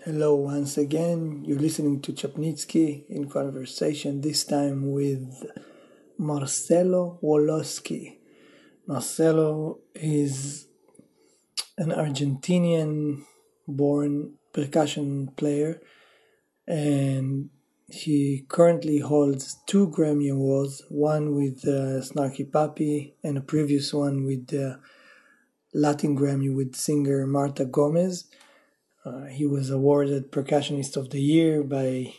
Hello once again. You're listening to Chapnitsky in conversation, this time with Marcelo Woloski. Marcelo is an Argentinian born percussion player, and he currently holds 2 Grammy Awards, one with Snarky Puppy and a previous one with the Latin Grammy with singer Marta Gomez. He was awarded Percussionist of the Year by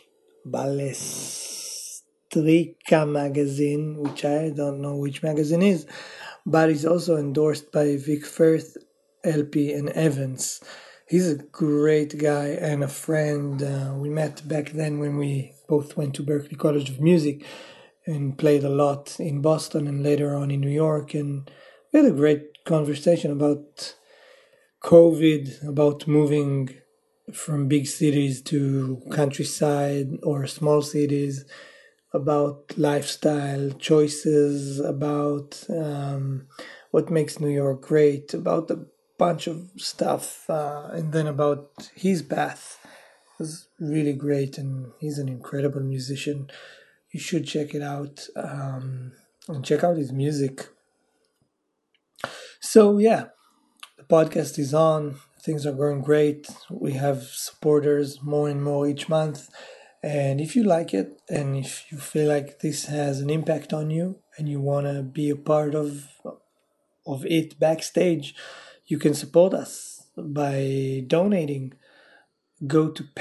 Balestrica magazine, which I don't know which magazine is, but he's also endorsed by Vic Firth, LP, and Evans. He's a great guy and a friend. We met back then when we both went to Berklee College of Music and played a lot in Boston and later on in New York. And we had a great conversation about COVID, about moving from big cities to countryside or small cities, about lifestyle choices, about what makes New York great, about a bunch of stuff, and then about his path. It was really great, and he's an incredible musician. You should check it out and check out his music. So yeah, the podcast is on. Things are going great. We have supporters more and more each month. And if you like it, and if you feel like this has an impact on you, and you want to be a part of it backstage, you can support us by donating. Go to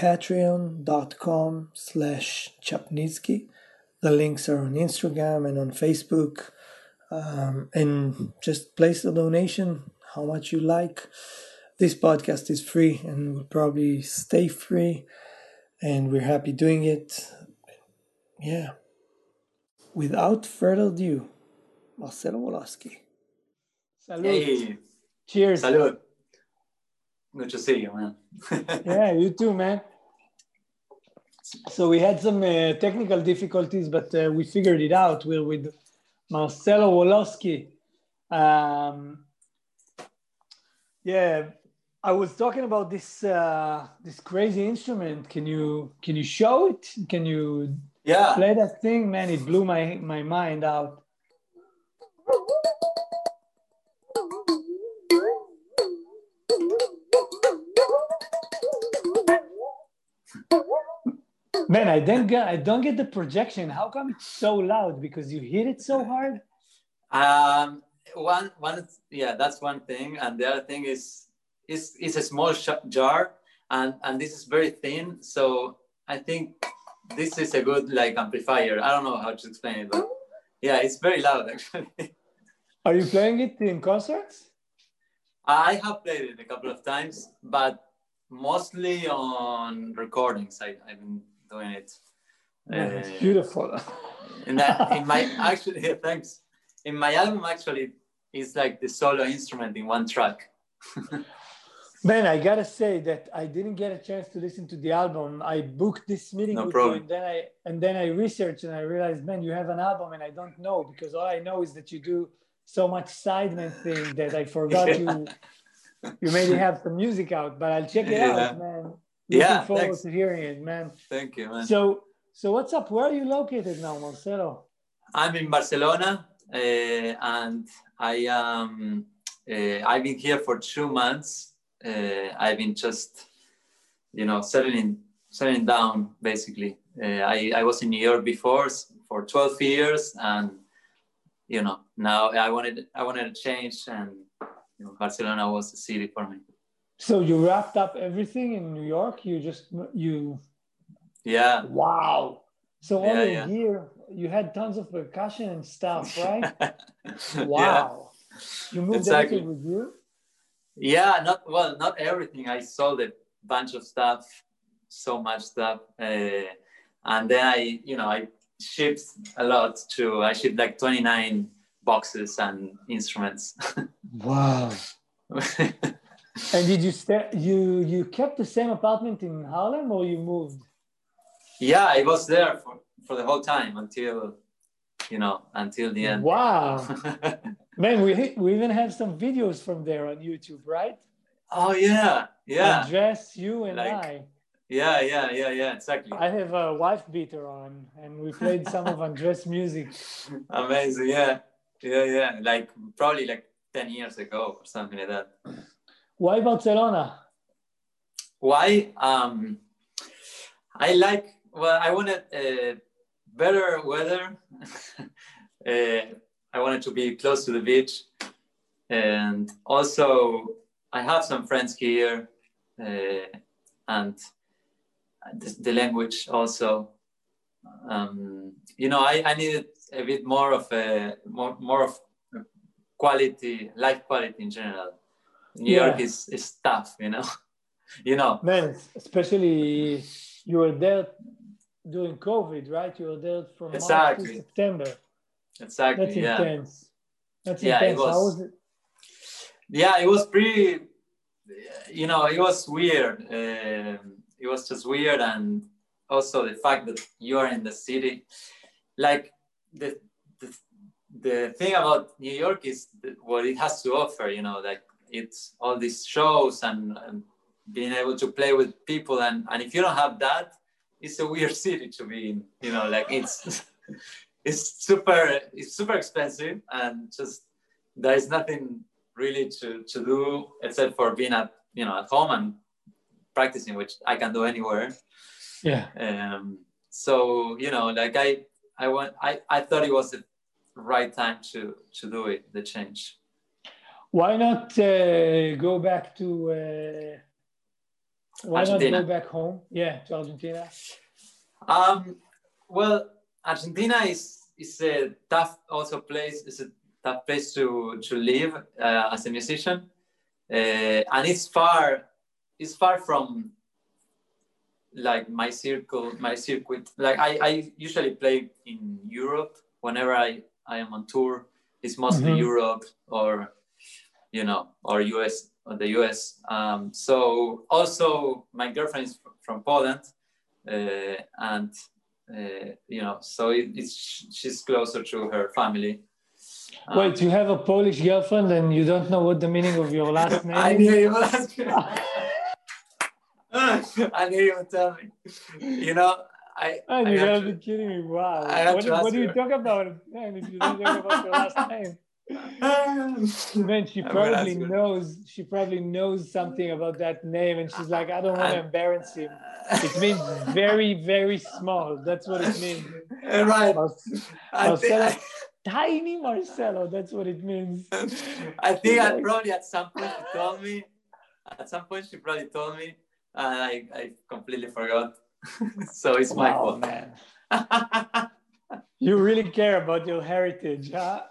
patreon.com/Chapnitsky. The links are on Instagram and on Facebook. And just place a donation, how much you like. This podcast is free and will probably stay free, and we're happy doing it. Yeah. Without further ado, Marcelo Woloski. Salud. Hey, Cheers. salud. Good to see you, man. Yeah, you too, man. So we had some technical difficulties, but we figured it out. We're with Marcelo Woloski. Yeah, I was talking about this crazy instrument. Can you show it? Can you Yeah. play that thing? Man, it blew my mind out. Man, I don't get the projection. How come it's so loud? Because you hit it so hard? Yeah, that's one thing, and the other thing is it's a small jar, and this is very thin. So I think this is a good amplifier. I don't know how to explain it, but yeah, it's very loud actually. Are you playing it in concerts? I have played it a couple of times, but mostly on recordings. I've been doing it. It's beautiful. In my actually, yeah, thanks. In my album, actually, it's like the solo instrument in one track. Man, I gotta say that I didn't get a chance to listen to the album. I booked this meeting with problem. you, and then I researched and I realized, man, you have an album, and I don't know, because all I know is that you do so much sideman thing that I forgot you maybe have some music out. But I'll check it out, man. Looking forward thanks. to hearing it, man. Thank you, man. So what's up? Where are you located now, Marcelo? I'm in Barcelona, and I've been here for 2 months. I've been just, settling down basically. I was in New York before for 12 years, and now I wanted to change, and Barcelona was the city for me. So you wrapped up everything in New York? Yeah. Wow. So all your yeah. gear, you had tons of percussion and stuff, right? Wow. Yeah. You moved Exactly. everything with you? Yeah, not everything. I sold a bunch of stuff, so much stuff, and then I shipped a lot too. I shipped like 29 boxes and instruments. Wow. And did you stay? You kept the same apartment in Harlem, or you moved? Yeah, I was there for the whole time until the end. Wow. Man, we even have some videos from there on YouTube, right? Oh yeah. Andres, you and I. Yeah, exactly. I have a wife beater on, and we played some of Andres music. Amazing, yeah. Like probably like 10 years ago or something like that. Why Barcelona? Why? I wanted better weather. I wanted to be close to the beach. And also, I have some friends here. And the language also. I needed a bit more of quality, life quality in general. New York is tough, Man, especially you were there during COVID, right? You were there from March to September. Exactly. That's intense. That's intense. It was, how was it? Yeah, it was pretty. It was weird. It was just weird, and also the fact that you are in the city, like the thing about New York is what it has to offer. Like it's all these shows and being able to play with people, and if you don't have that, it's a weird city to be in. Like it's super expensive, and just there is nothing really to do except for being at home and practicing, which I can do anywhere. So like I thought it was the right time to do it, the change. Why not go back to Argentina. Not go back home? Yeah, to Argentina. Well, Argentina is a tough place. It's a tough place to live as a musician, and it's far from like my circuit. Like I usually play in Europe whenever I am on tour. It's mostly Europe or or US or the US. So also my girlfriend is from Poland, and so she's closer to her family. Wait, you have a Polish girlfriend and you don't know what the meaning of your last name is? I knew you would ask me. I knew you would tell me. You gotta be kidding me. Wow. What do you talk about, man, if you don't talk about your last name? Man, she probably knows something about that name, and she's like, I don't want to embarrass him. It means very, very small. That's what it means. Right. Marcelo, tiny Marcelo. That's what it means. I think probably at some point she told me. And I completely forgot. So it's my fault. Man. You really care about your heritage, huh?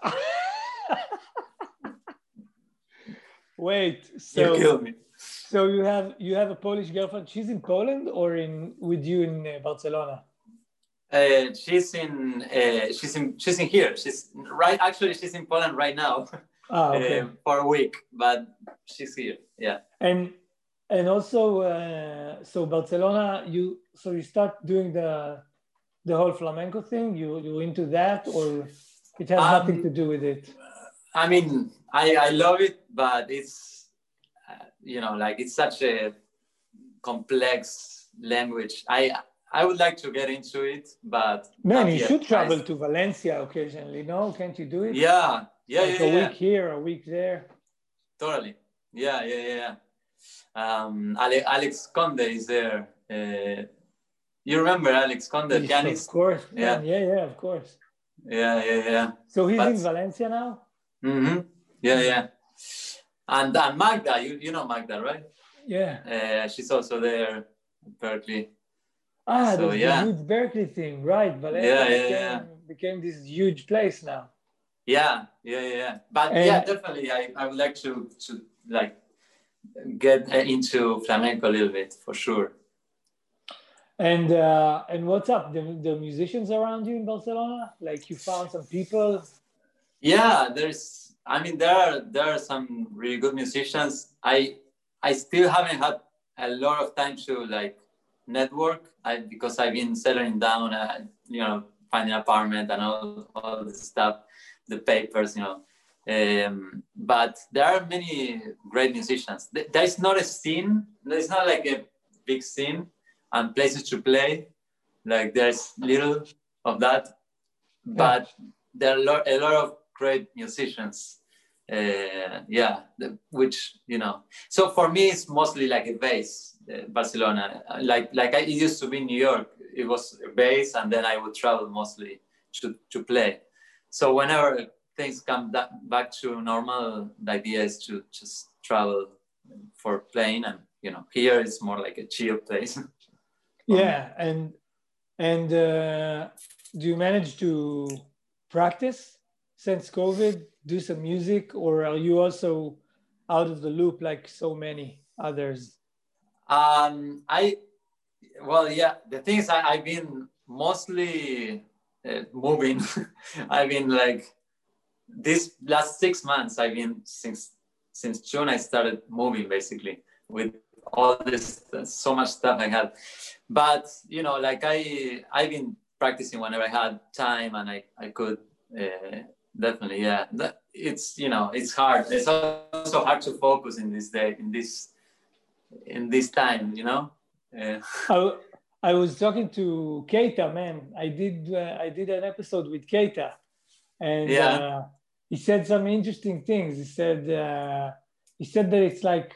Wait, so you killed me. So you have a Polish girlfriend. She's in Poland or with you in Barcelona? She's in here. She's in Poland right now. Okay. For a week, but she's here. Yeah. And also, so Barcelona, you start doing the whole flamenco thing. You into that, or it has nothing to do with it? I mean, I love it, but it's like it's such a complex language. I would like to get into it, but man, you should travel to Valencia occasionally. No, can't you do it? Yeah. A week here, a week there. Totally. Yeah. Alex Conde is there. You remember Alex Conde, the pianist? Of course. Yeah, of course. Yeah. So he's in Valencia now? Mm-hmm. Yeah. And Magda, you know Magda, right? Yeah. She's also there in Berkeley. The huge Berkeley thing, right? Valencia became this huge place now. Yeah. But definitely, I would like to like get into flamenco a little bit for sure. And what's up? The musicians around you in Barcelona? Like you found some people? Yeah, there are some really good musicians. I still haven't had a lot of time to like network because I've been settling down, finding an apartment and all this stuff, the papers, but there are many great musicians. There's not a scene. There's not like a big scene, and places to play. Like there's little of that, but there are a lot of great musicians. Which, you know, so for me it's mostly like a base. Barcelona, like it used to be New York. It was a base, and then I would travel mostly to play. So whenever things come back to normal, the idea is to just travel for playing, and you know, here it's more like a chill place. Yeah, and do you manage to practice since COVID? Do some music, or are you also out of the loop like so many others? The thing is, I've been mostly moving. I've been like this last 6 months. I've been since June. I started moving basically with all this so much stuff I had. But you know, like I've been practicing whenever I had time, and I could. Definitely, yeah. It's, you know, it's hard. It's also hard to focus in this day, in this time, you know. I was talking to Keita, man. I did an episode with Keita, and he said some interesting things. He said that it's like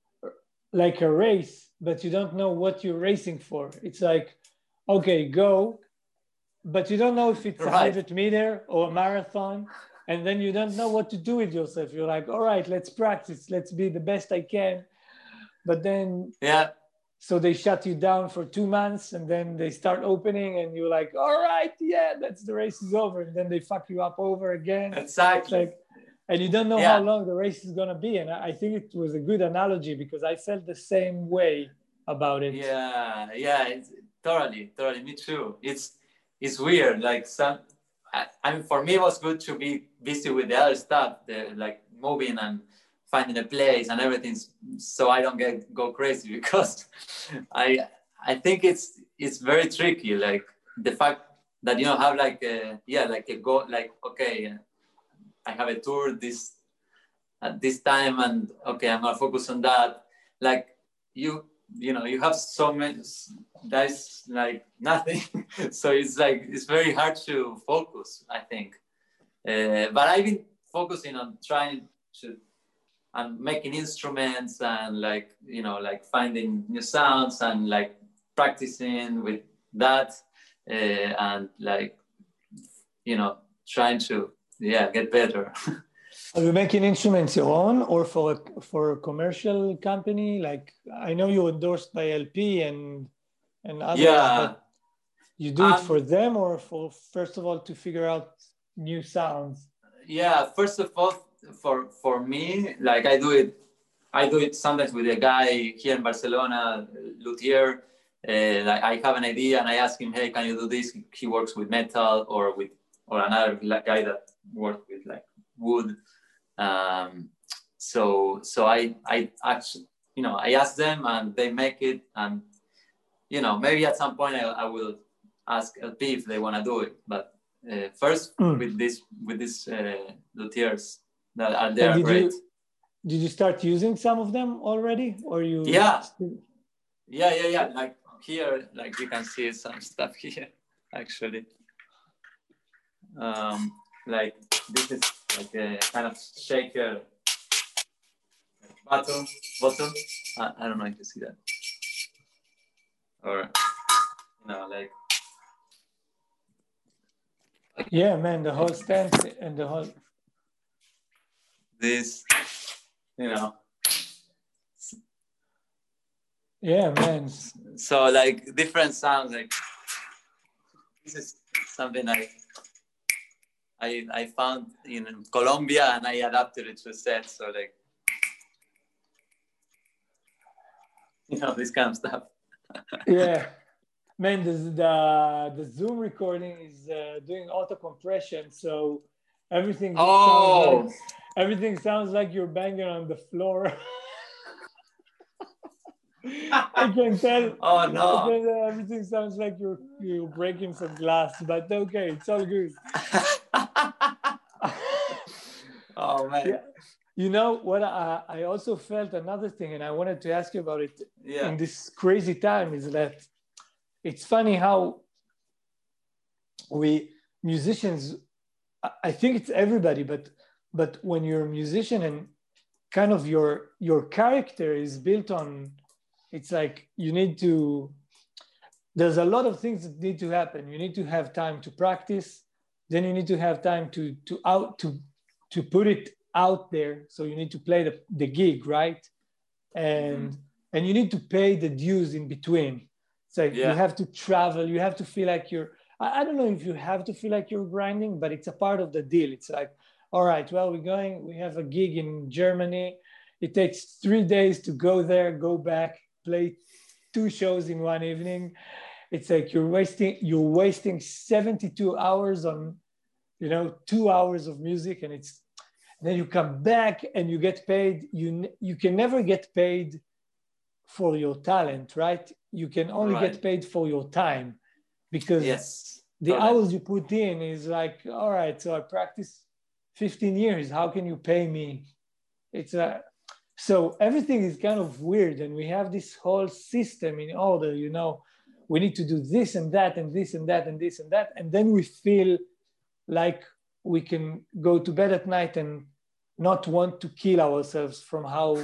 a race, but you don't know what you're racing for. It's like, okay, go. But you don't know if it's 100 meter or a marathon, and then you don't know what to do with yourself. You're like, all right, let's practice. Let's be the best I can. But then, so they shut you down for 2 months, and then they start opening, and you're like, all right, yeah, the race is over. And then they fuck you up over again. Exactly. And you don't know how long the race is going to be. And I think it was a good analogy, because I felt the same way about it. Yeah, it's, totally. Me too. It's weird. Like I mean, for me, it was good to be busy with the other stuff, like moving and finding a place and everything, so I don't go crazy, because I think it's very tricky. Like the fact that you don't have like a goal, like, okay, I have a tour at this time, and okay, I'm gonna focus on that. Like you know, you have so many. That's like nothing. So it's very hard to focus, I think. But I've been focusing on trying to and making instruments, and like, you know, like finding new sounds, and like practicing with that, and like, you know, trying to get better. Are you making instruments your own, or for a commercial company? Like, I know you're endorsed by LP and others, but you do it for them, or for, first of all, to figure out new sounds? Yeah, first of all, for me, like I do it sometimes with a guy here in Barcelona, luthier. Like I have an idea and I ask him, hey, can you do this? He works with metal, or another guy that works with like wood. So I actually, you know, I ask them and they make it, and you know, maybe at some point I will ask LP if they want to do it, but first with these luthiers that are there. Great. Did you start using some of them already, or you? Yeah. Like here, like you can see some stuff here, actually. Like this is like a kind of shaker bottom. I don't know if you see that, or you know, like. Yeah, man, the whole stand and the whole. This, you know. Yeah, man. So like different sounds. Like this is something I found in Colombia, and I adapted it to a set. So like, you know, this kind of stuff. Yeah. Man, the Zoom recording is doing auto compression, so everything sounds like you're banging on the floor. I can tell. Oh no! Everything sounds like you're breaking some glass, but okay, it's all good. Oh man! Yeah. You know what? I also felt another thing, and I wanted to ask you about it. Yeah. In this crazy time, is that it's funny how we musicians, I think it's everybody, but when you're a musician and kind of your character is built on, it's like you need to, there's a lot of things that need to happen. You need to have time to practice, then you need to have time to put it out there. So you need to play the gig, right? And you need to pay the dues in between. It's like you have to travel, you have to feel like you're, I don't know if you have to feel like you're grinding, but it's a part of the deal. It's like, all right, well, we have a gig in Germany. It takes 3 days to go there, go back, play 2 shows in one evening. It's like you're wasting 72 hours on, 2 hours of music, and then you come back and you get paid. You can never get paid for your talent, right? You can only get paid for your time, because the hours you put in is like, all right, so I practice 15 years. How can you pay me? So everything is kind of weird, and we have this whole system in order, we need to do this and that and this and that and this and that. And then we feel like we can go to bed at night and not want to kill ourselves from how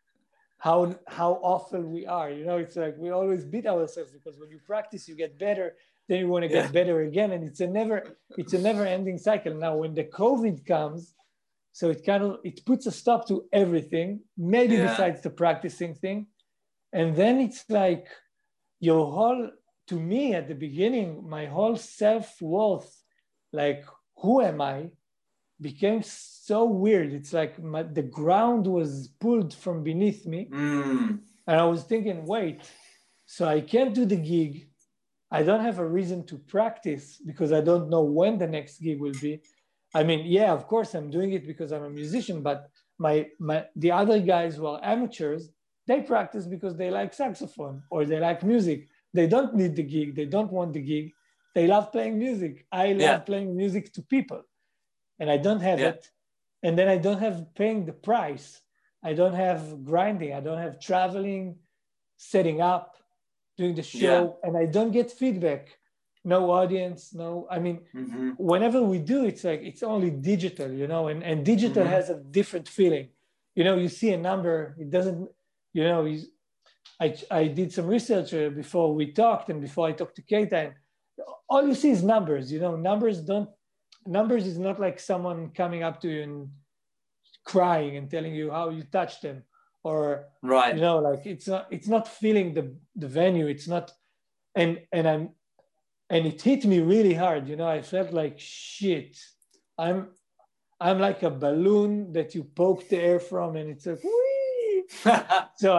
awful we are. It's like we always beat ourselves, because when you practice, you get better, then you want to get better again. And it's a never ending cycle. Now, when the COVID comes, so it puts a stop to everything, maybe besides the practicing thing. And then it's like to me at the beginning, my whole self-worth, like, who am I, became so weird. It's like the ground was pulled from beneath me. And I was thinking, wait, so I can't do the gig. I don't have a reason to practice because I don't know when the next gig will be. I mean, yeah, of course I'm doing it because I'm a musician, but the other guys who are amateurs, they practice because they like saxophone or they like music. They don't need the gig. They don't want the gig. They love playing music. I love playing music to people, and I don't have it. And then I don't have paying the price. I don't have grinding. I don't have traveling, setting up, doing the show, and I don't get feedback. No audience, whenever we do, it's like, it's only digital, and digital has a different feeling. You see a number, it doesn't, I did some research before we talked and before I talked to Keita, and all you see is numbers. Numbers is not like someone coming up to you and crying and telling you how you touched them, or like it's not feeling the venue. It's not, and it hit me really hard. I felt like shit. I'm like a balloon that you poke the air from, and it's like, whee! So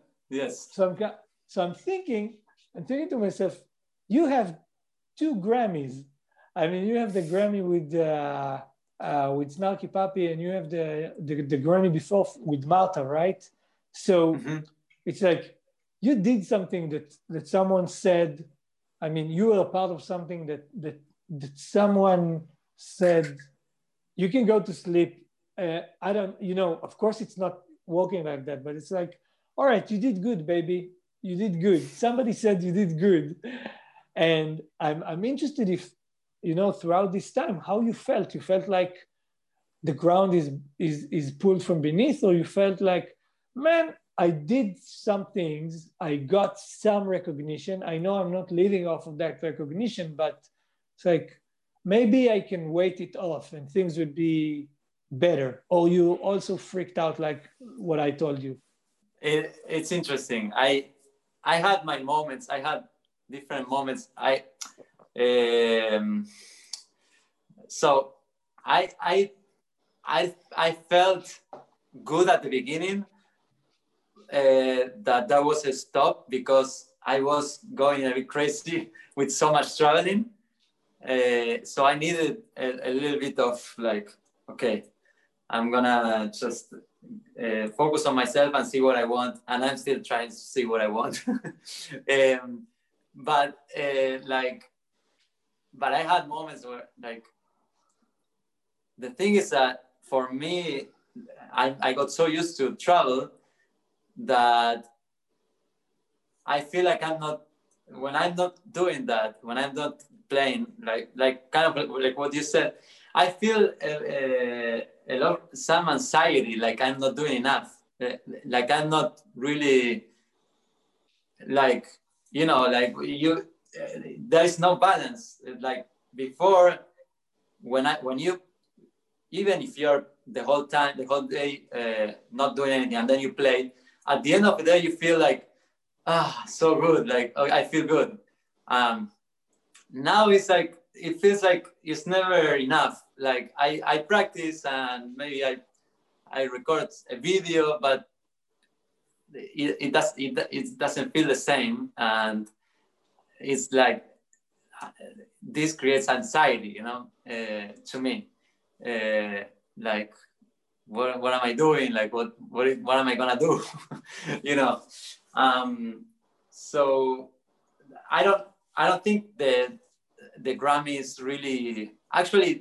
I'm thinking to myself, you have 2 Grammys. I mean, you have the Grammy with Snarky Puppy, and you have the Grammy before with Marta, right? So it's like you did something that someone said. I mean, you were a part of something that someone said, you can go to sleep. I don't, of course it's not working like that, but it's like, all right, you did good, baby. You did good. Somebody said you did good. And I'm interested if, throughout this time, how you felt. You felt like the ground is pulled from beneath, or you felt like, man, I did some things, I got some recognition. I know I'm not living off of that recognition, but it's like, maybe I can wait it off and things would be better. Or you also freaked out like what I told you? It's interesting. I had my moments. I had different moments. So I felt good at the beginning. That was a stop because I was going a bit crazy with so much traveling. So I needed a little bit of like, okay, I'm gonna just focus on myself and see what I want. And I'm still trying to see what I want. But I had moments where like, the thing is that for me, I got so used to travel that I feel like I'm not when I'm not doing that, when I'm not playing, like kind of like what you said, I feel a lot some anxiety, like I'm not doing enough, like I'm not really like like you. There is no balance. Like before, when you even if you're the whole time, the whole day not doing anything, and then you play, at the end of the day, you feel like, so good. Like, oh, I feel good. Now it's like, it feels like it's never enough. Like I practice and maybe I record a video, but it doesn't feel the same. And it's like, this creates anxiety, to me. Like, what am I doing? Like, what am I gonna do? you know. So I don't think the Grammys really actually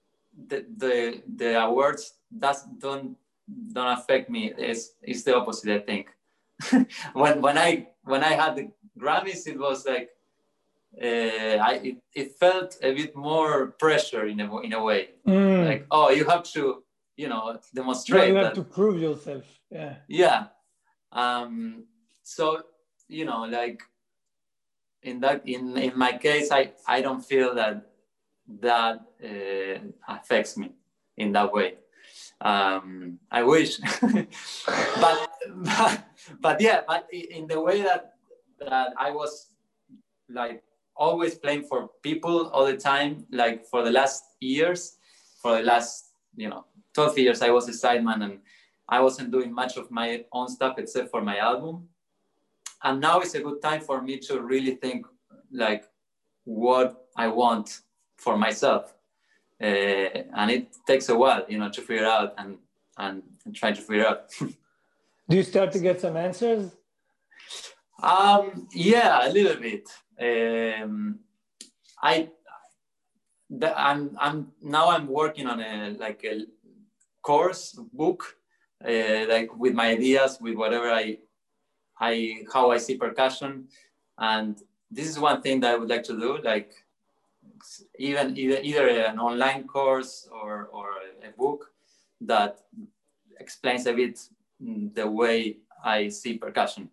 the awards don't affect me. It's the opposite, I think. when I had the Grammys, it was like it felt a bit more pressure in a way. Like, oh, you have to demonstrate. You have that. to prove yourself. Yeah. So like in my case, I don't feel that affects me in that way. I wish, but yeah, but in the way that I was like always playing for people all the time, like for the last 12 years, I was a sideman and I wasn't doing much of my own stuff except for my album. And now it's a good time for me to really think like what I want for myself. And it takes a while, to figure out and try to figure out. Do you start to get some answers? Yeah, a little bit. I'm working on a course book, like with my ideas, with whatever how I see percussion, and this is one thing that I would like to do, like either an online course or a book that explains a bit the way I see percussion.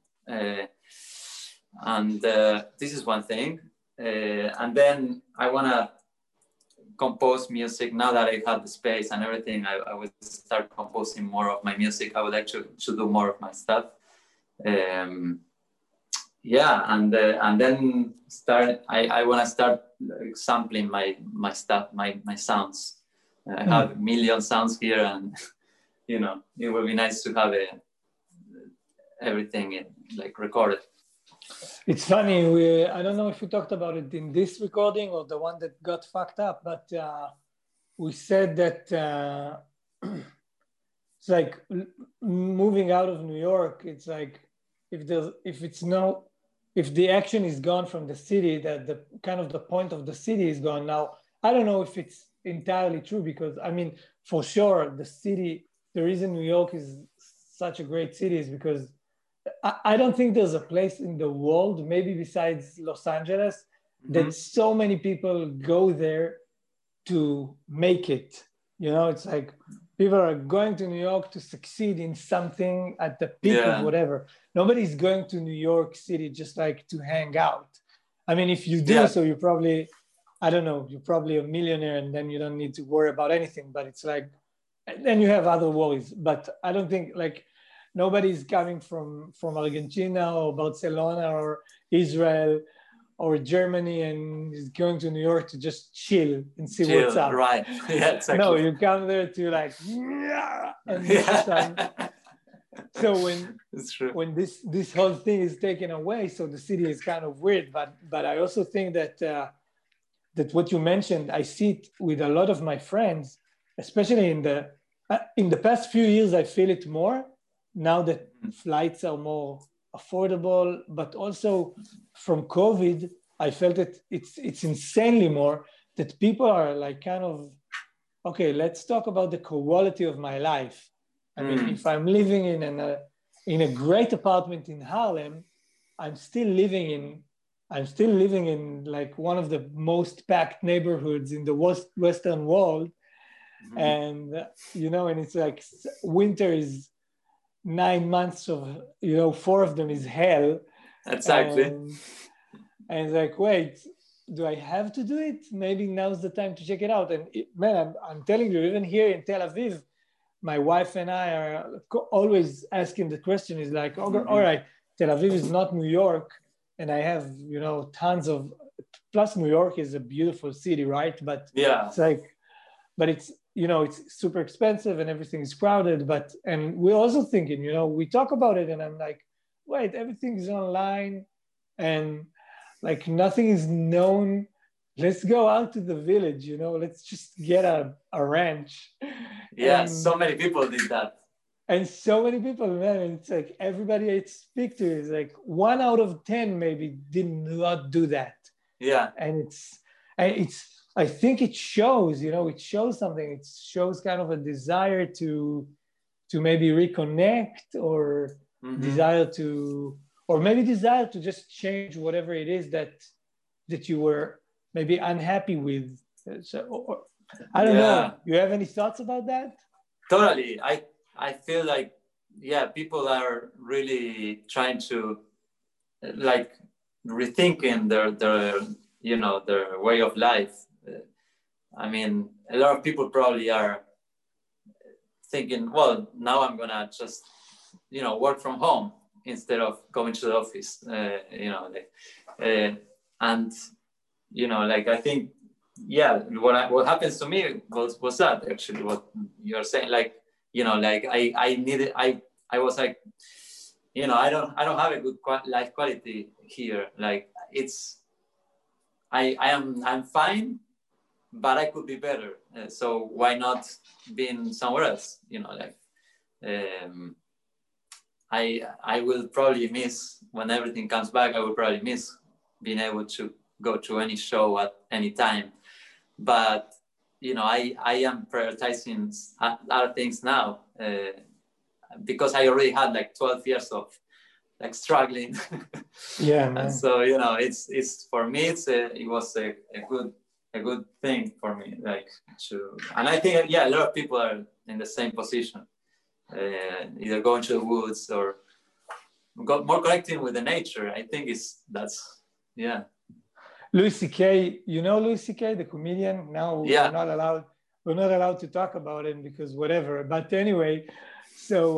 And this is one thing. And then I want to compose music. Now that I have the space and everything, I will start composing more of my music. I would like to do more of my stuff. Yeah, and then I want to start sampling my stuff, my sounds. I have a million sounds here, and it would be nice to have everything like recorded. It's funny. I don't know if we talked about it in this recording or the one that got fucked up, but we said that it's like moving out of New York. It's like if the action is gone from the city, that the kind of the point of the city is gone. Now, I don't know if it's entirely true, because I mean, for sure, the reason New York is such a great city is because I don't think there's a place in the world, maybe besides Los Angeles, that so many people go there to make it. It's like people are going to New York to succeed in something at the peak of whatever. Nobody's going to New York City just like to hang out. I mean, if you do, so you're probably, I don't know, you're probably a millionaire and then you don't need to worry about anything. But it's like, then you have other worries. But I don't think like nobody's coming from Argentina or Barcelona or Israel or Germany and is going to New York to just chill and see what's up. Right. Yeah, exactly. No, you come there to like, and so when this whole thing is taken away, so the city is kind of weird. But I also think that that what you mentioned, I see it with a lot of my friends, especially in the past few years. I feel it more now that flights are more affordable, but also from COVID, I felt that it's insanely more that people are like kind of, okay, let's talk about the quality of my life. I mean, if I'm living in a great apartment in Harlem, I'm still living in I'm still living in like one of the most packed neighborhoods in the Western world. Mm-hmm. And, you know, and it's like winter is 9 months of, you know, 4 of them is hell. Exactly. And it's like, wait, do I have to do it? Maybe now's the time to check it out. And man, I'm telling you, even here in Tel Aviv, my wife and I are always asking the question is like, all right, Tel Aviv is not New York. And I have, you know, tons of, plus New York is a beautiful city, right? But yeah, it's like, but it's, you know, it's super expensive and everything is crowded. And we're also thinking, you know, we talk about it and I'm like, wait, everything is online and like nothing is known. Let's go out to the village, you know, let's just get a ranch. Yeah, and so many people did that. And so many people, man, it's like everybody I speak to is like 1 out of 10 maybe did not do that. Yeah. And I think it shows, you know, it shows something. It shows kind of a desire to maybe reconnect or desire to just change whatever it is that you were maybe unhappy with. So, I don't know. You have any thoughts about that? Totally. I feel like, yeah, people are really trying to like rethinking their you know, their way of life. I mean, a lot of people probably are thinking, well, now I'm gonna just, you know, work from home instead of going to the office, you know, like, and, you know, like, I think, yeah, what happens to me was that actually what you're saying, like, you know, like I was like, you know, I don't have a good life quality here. Like I'm fine, but I could be better. So why not being somewhere else? You know, like I will probably miss when everything comes back. I will probably miss being able to go to any show at any time. But you know, I am prioritizing other things now because I already had like 12 years of like struggling. Yeah, man. And so, you know, it's for me, it was a good thing for me, like and I think, yeah, a lot of people are in the same position, either going to the woods or more connecting with the nature. I think yeah. Louis C.K., you know Louis C.K., the comedian? Now we're not allowed to talk about him because whatever. But anyway, so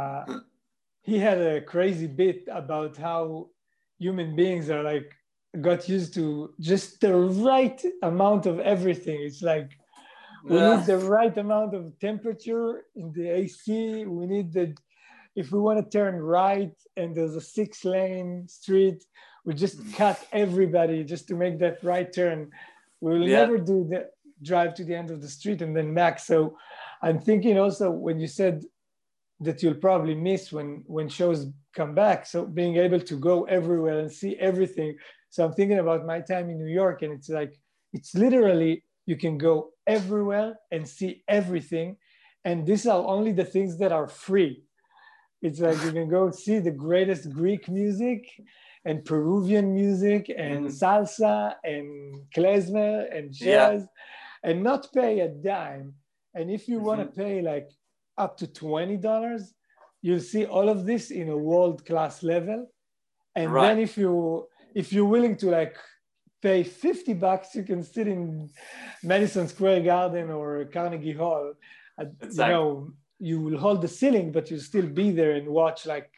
he had a crazy bit about how human beings are like, got used to just the right amount of everything. It's like, we need the right amount of temperature in the AC. We need if we want to turn right and there's a 6-lane street, we just cut everybody just to make that right turn. We will never do the drive to the end of the street and then back. So I'm thinking also when you said that you'll probably miss when shows come back. So being able to go everywhere and see everything. So I'm thinking about my time in New York and it's like, it's literally, you can go everywhere and see everything. And these are only the things that are free. It's like you can go see the greatest Greek music and Peruvian music and salsa and klezmer and jazz and not pay a dime. And if you want to pay like up to $20, you'll see all of this in a world-class level. And then if you're willing to like pay $50, you can sit in Madison Square Garden or Carnegie Hall. You know, you will hold the ceiling, but you'll still be there and watch like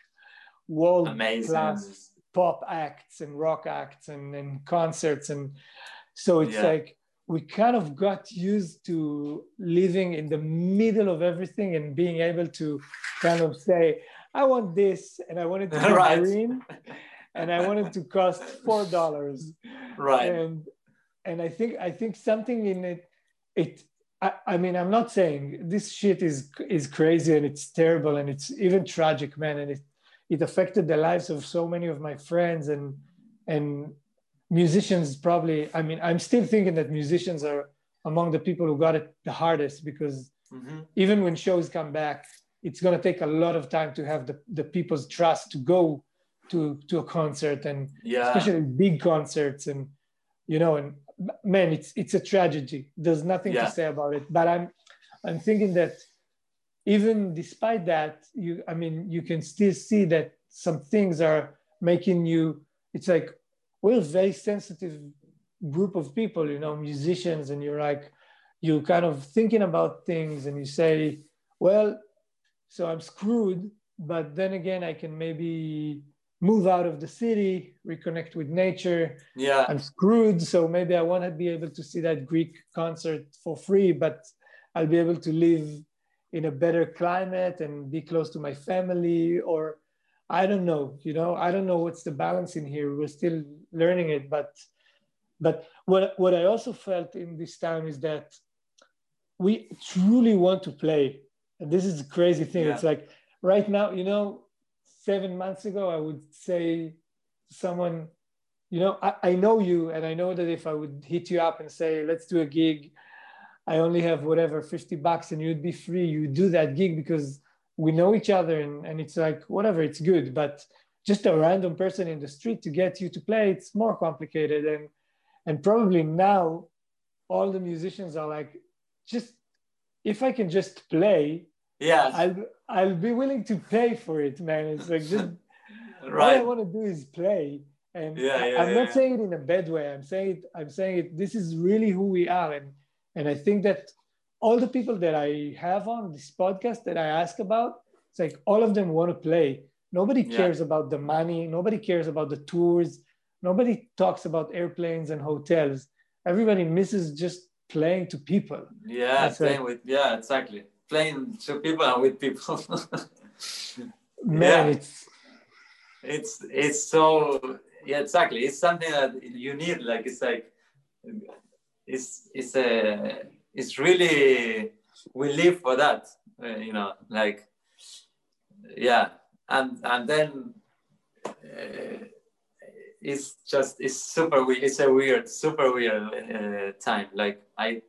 world-class pop acts and rock acts and concerts. And so it's like, we kind of got used to living in the middle of everything and being able to kind of say, I want this, and I want it to be green, and I want it to cost $4. Right. And I think something in it, I mean, I'm not saying this shit is crazy and it's terrible and it's even tragic, man. And it affected the lives of so many of my friends and musicians probably. I mean, I'm still thinking that musicians are among the people who got it the hardest because even when shows come back, it's going to take a lot of time to have the people's trust to go to a concert, and Yeah. especially big concerts, and and man, it's a tragedy. There's nothing to say about it. But I'm thinking that even despite that, you can still see that some things are making you. It's like we're a very sensitive group of people, musicians, and you're kind of thinking about things, and you say, well, so I'm screwed, but then again, I can maybe move out of the city, reconnect with nature. Yeah. I'm screwed, so maybe I want to be able to see that Greek concert for free, but I'll be able to live in a better climate and be close to my family, or I don't know, I don't know what's the balance in here. We're still learning it, but what I also felt in this time is that we truly want to play. And this is a crazy thing. Yeah. It's like right now, 7 months ago, I would say to someone, I know you, and I know that if I would hit you up and say, let's do a gig, I only have whatever, $50, and you'd be free, you do that gig because we know each other, and it's like, whatever, it's good. But just a random person in the street to get you to play, it's more complicated. And probably now all the musicians are like, just, if I can just play, yeah, I'll be willing to pay for it, man. It's like just right. all I want to do is play. And I'm not saying it in a bad way. I'm saying it, this is really who we are. And I think that all the people that I have on this podcast that I ask about, it's like all of them want to play. Nobody cares about the money. Nobody cares about the tours. Nobody talks about airplanes and hotels. Everybody misses just playing to people. Yeah, playing with, exactly. Playing to people and with people. Man, it's so, exactly. It's something that you need. Like, it's really, we live for that, like, and then it's super weird time. Like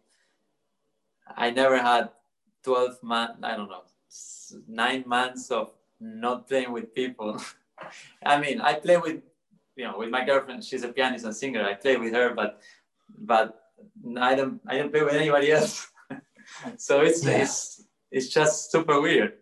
I never had 12 months, I don't know, 9 months of not playing with people. I mean, I play with my girlfriend. She's a pianist and singer. I play with her, but I don't play with anybody else. So it's just super weird.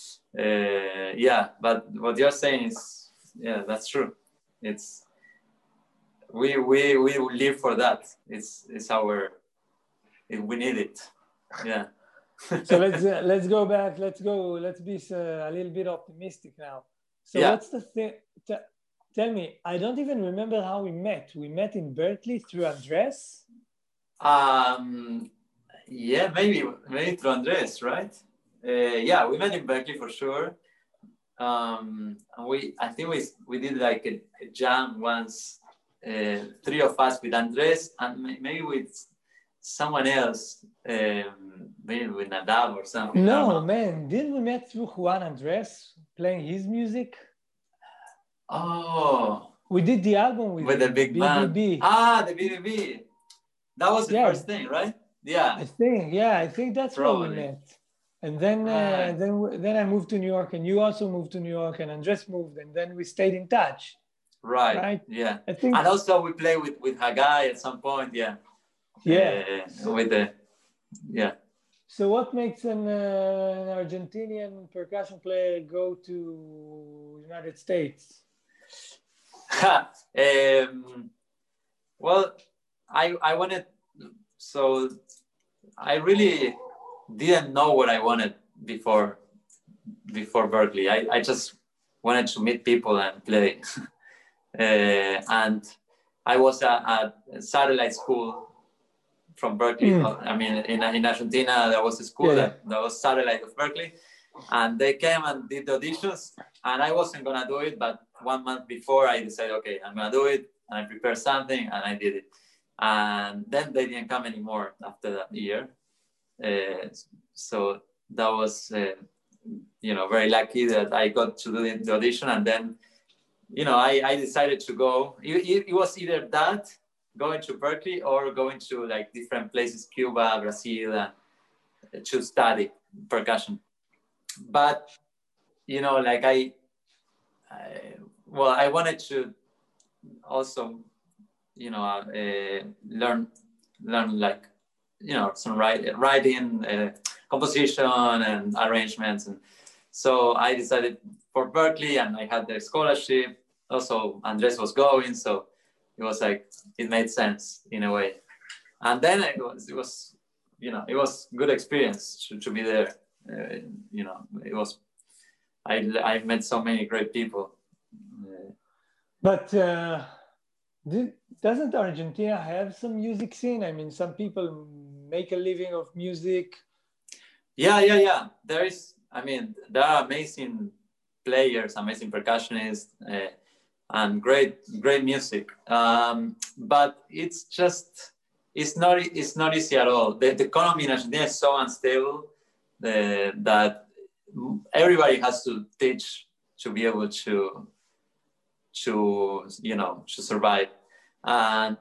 But what you're saying is, that's true. It's we live for that. It's we need it. Yeah. So let's go back. Let's be a little bit optimistic now. So what's the thing? Tell me. I don't even remember how we met. We met in Berkeley through Andres. Maybe through Andres, right? We met in Berkeley for sure. And I think we did like a jam once, 3 of us with Andres and maybe with someone else, maybe with Nadav or something. No, man, didn't we met through Juan Andres playing his music? Oh, we did the album with the big band. BBB. The BBB. That was the first thing, right? Yeah. I think that's where we met. And then then I moved to New York, and you also moved to New York, and Andres moved, and then we stayed in touch. Right. Yeah. I think. And also we played with Hagai at some point. Yeah. So what makes an Argentinian percussion player go to United States? Well, I wanted, so I really didn't know what I wanted before Berkeley. I just wanted to meet people and play. And I was at a satellite school from Berkeley. I mean, in Argentina, there was a school that was satellite of Berkeley. And they came and did the auditions. And I wasn't going to do it, but 1 month before I decided, okay, I'm going to do it. And I prepared something and I did it. And then they didn't come anymore after that year. So that was, very lucky that I got to do the audition. And then, I decided to go. It was either that, going to Berkeley, or going to like different places, Cuba, Brazil, to study percussion. But, well, I wanted to also, learn like, some writing, composition and arrangements. And so I decided for Berklee, and I had the scholarship. Also, Andres was going, so it was like, it made sense in a way. And then it was good experience to be there. It was, I met so many great people. But doesn't Argentina have some music scene? I mean, some people make a living of music. Yeah. There are amazing players, amazing percussionists, and great music. But it's not easy at all. The economy in Argentina is so unstable that everybody has to teach to be able to survive. And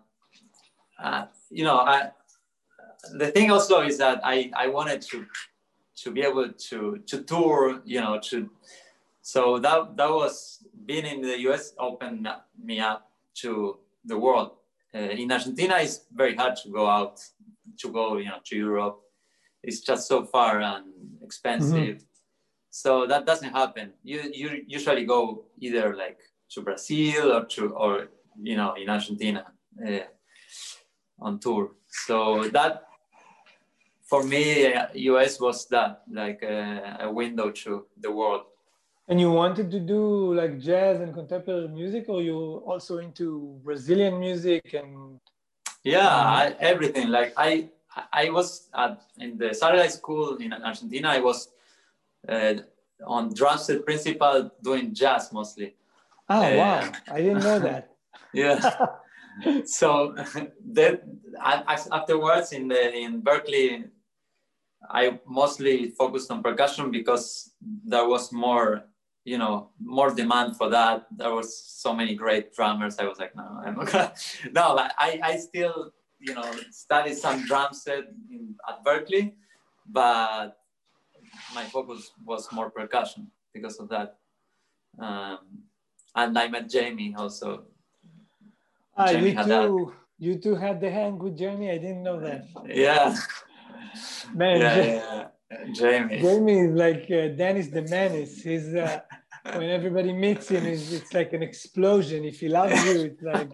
the thing also is that I wanted to be able to tour, so that was, being in the US opened me up to the world. In Argentina, it's very hard to go out, to Europe. It's just so far and expensive. Mm-hmm. So that doesn't happen. You usually go either like to Brazil or in Argentina on tour. So that, for me, US was that, like a window to the world. And you wanted to do like jazz and contemporary music, or you also into Brazilian music and? Yeah, everything. Like I was in the satellite school in Argentina. I was on drum set principal, doing jazz mostly. Oh, wow. I didn't know that. Yeah. So then afterwards in Berklee, I mostly focused on percussion because there was more demand for that. There was so many great drummers. I was like, no, I'm not gonna. No, I still, studied some drum set at Berklee, but my focus was more percussion because of that. And I met Jamie also. You two had the hang with Jamie? I didn't know that. Yeah. Man, yeah. Jamie is like Dennis the Menace. He's when everybody meets him, it's like an explosion. If he loves you, it's like.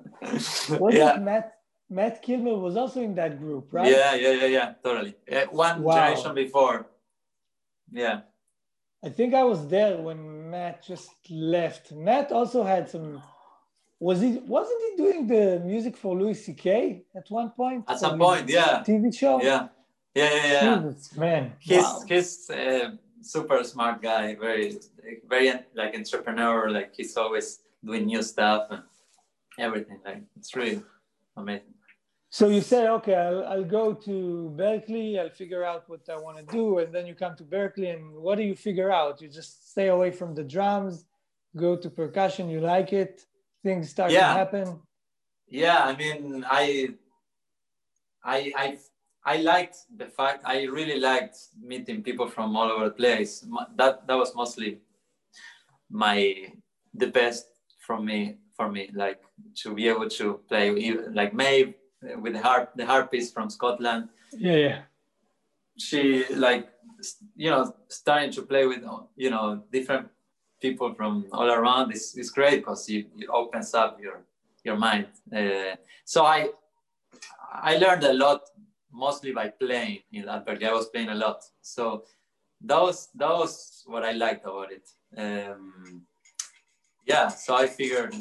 Matt Kilmer was also in that group, right? Yeah, totally. One generation before. Yeah. I think I was there when Matt just left. Matt also had some. Wasn't he doing the music for Louis C.K. at one point? At some point, yeah. TV show. Yeah. Jesus, man. He's super smart guy. Very, very like entrepreneur. Like he's always doing new stuff and everything. Like it's really amazing. So you say, okay, I'll go to Berklee. I'll figure out what I want to do, and then you come to Berklee, and what do you figure out? You just stay away from the drums, go to percussion. You like it. Things start to happen. Yeah, I mean, I liked the fact, I really liked meeting people from all over the place. That was mostly the best for me, like to be able to play like Maeve with the harpist from Scotland. Yeah. She like, starting to play with, different people from all around is great because it opens up your mind. So I learned a lot, mostly by playing in Berklee. I was playing a lot. So that was what I liked about it. So I figured,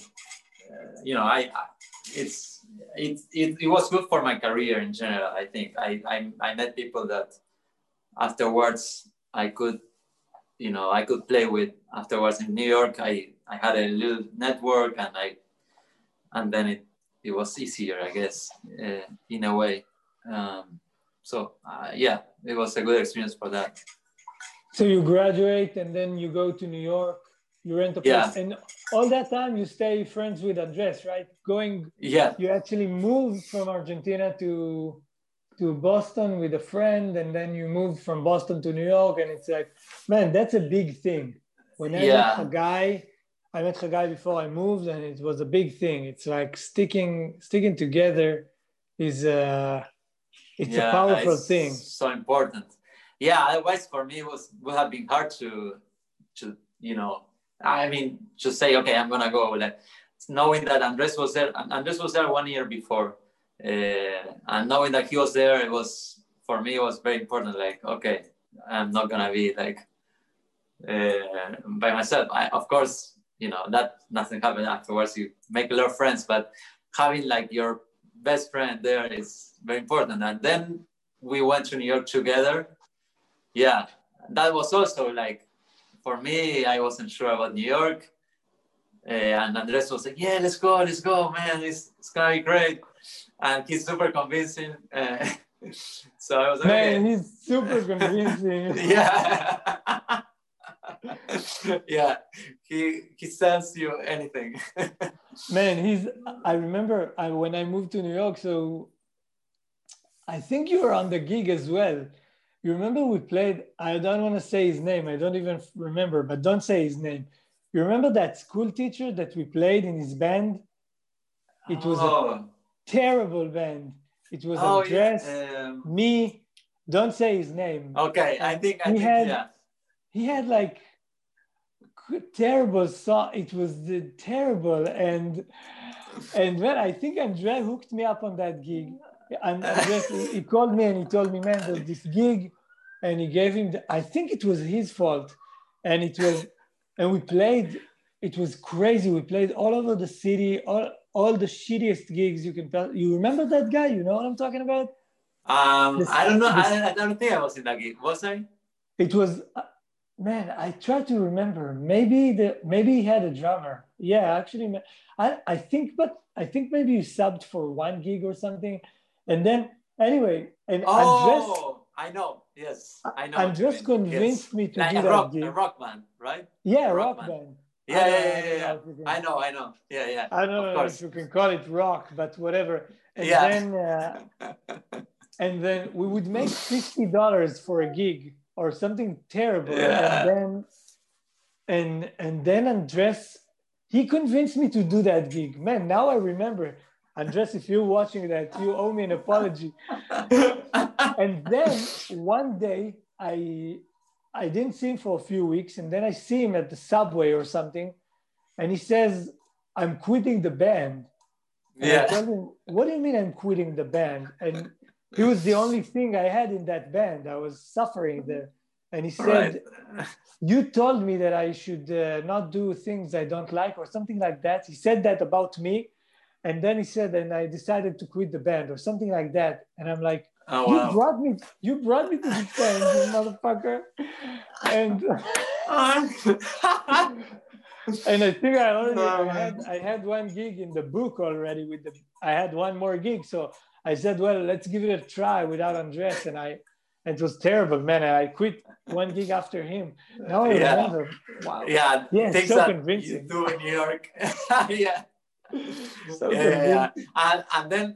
it was good for my career in general. I think I met people that afterwards I could play with. Afterwards in New York, I had a little network, and then it was easier, I guess, in a way. It was a good experience for that. So you graduate and then you go to New York, you rent a place, and all that time you stay friends with Andres, right? You actually moved from Argentina to Boston with a friend, and then you moved from Boston to New York, and it's like, man, that's a big thing. When I met a guy I met Chagai before I moved, and it was a big thing. It's like sticking together is it's a powerful thing. So important. Yeah, otherwise for me would have been hard to I mean, to say, okay, I'm gonna go. Like knowing that Andres was there. Andres was there 1 year before, and knowing that he was there, it was for me. It was very important. Like, okay, I'm not gonna be like by myself. Of course, that nothing happened afterwards. You make a lot of friends, but having like your best friend there is very important. And then we went to New York together. Yeah, that was also like, for me, I wasn't sure about New York. And Andres was like, yeah, let's go, man. It's gonna be great. And he's super convincing. So I was like, man, he's super convincing. Yeah. Yeah, he sells you anything. Man, I remember when I moved to New York, so I think you were on the gig as well. You remember we played, I don't want to say his name, I don't even remember, but don't say his name. You remember that school teacher that we played in his band? It was a terrible band. It was Andres, me, don't say his name. Okay, I think yeah. He had like terrible song. It was terrible. And when I think Andre hooked me up on that gig. And he called me and he told me, man, there's this gig, and he gave him, I think it was his fault. And we played, it was crazy. We played all over the city, all the shittiest gigs you can tell. You remember that guy? You know what I'm talking about? I don't know. I don't think I was in that gig. Was I? It was, man, I try to remember. Maybe he had a drummer. Yeah, actually, I think maybe you subbed for one gig or something. And then, anyway, and Andres, I know. Yes, I know. Andres convinced me to like do that gig. A rock band, right? Yeah, rock band. Yeah. I know. Yeah. I don't know if you can call it rock, but whatever. And then we would make $50 for a gig or something terrible. Yeah. And then Andres, he convinced me to do that gig. Man, now I remember. Andres, if you're watching that, you owe me an apology. And then one day, I didn't see him for a few weeks, and then I see him at the subway or something, and he says, I'm quitting the band. And I told him, what do you mean I'm quitting the band? And he was the only thing I had in that band. I was suffering there. And he said, you told me that I should not do things I don't like or something like that. He said that about me. And then he said, and I decided to quit the band or something like that. And I'm like, you brought me to this band, you motherfucker. And and I think I had one gig in the book already I had one more gig. So I said, well, let's give it a try without Andres. And it was terrible, man. And I quit one gig after him. Now I remember. Wow. Yeah, things so convincing. You do in New York. Yeah. So and then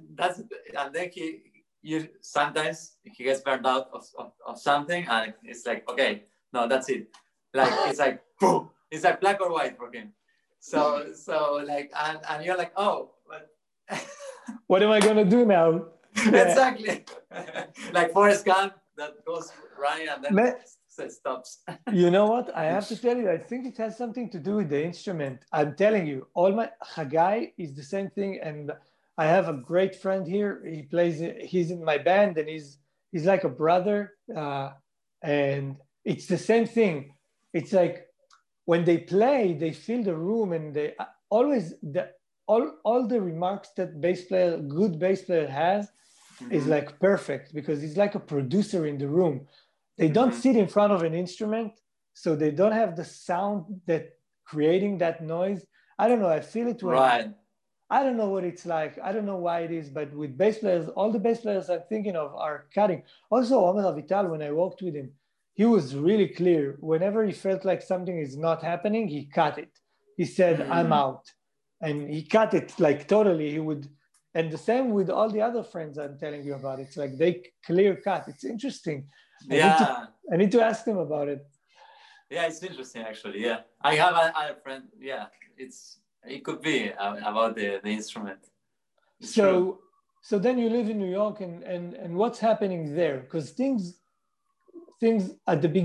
you sometimes he gets burned out of something, and it's like, okay, no, that's it. Like it's like boom, it's like black or white for him. So like, and you're like, oh, what am I gonna do now? Exactly. Like Forrest Gump that goes running and then stops. You know what? I have to tell you, I think it has something to do with the instrument. I'm telling you, Chagai is the same thing. And I have a great friend here. He's in my band, and he's like a brother. And it's the same thing. It's like when they play, they fill the room, and they always, all the remarks that good bass player has is like perfect, because he's like a producer in the room. They don't sit in front of an instrument, so they don't have the sound that creating that noise. I don't know. I feel it when I don't know what it's like. I don't know why it is, but with bass players, all the bass players I'm thinking of are cutting. Also, Omer Avital, when I worked with him, he was really clear. Whenever he felt like something is not happening, he cut it. He said, I'm out. And he cut it like totally. He would, and the same with all the other friends I'm telling you about. It's like they clear cut. It's interesting. I need to ask them about it. Yeah, it's interesting actually. Yeah, I have a friend. Yeah, it could be about the instrument. It's true. So then you live in New York, and what's happening there? Because things at the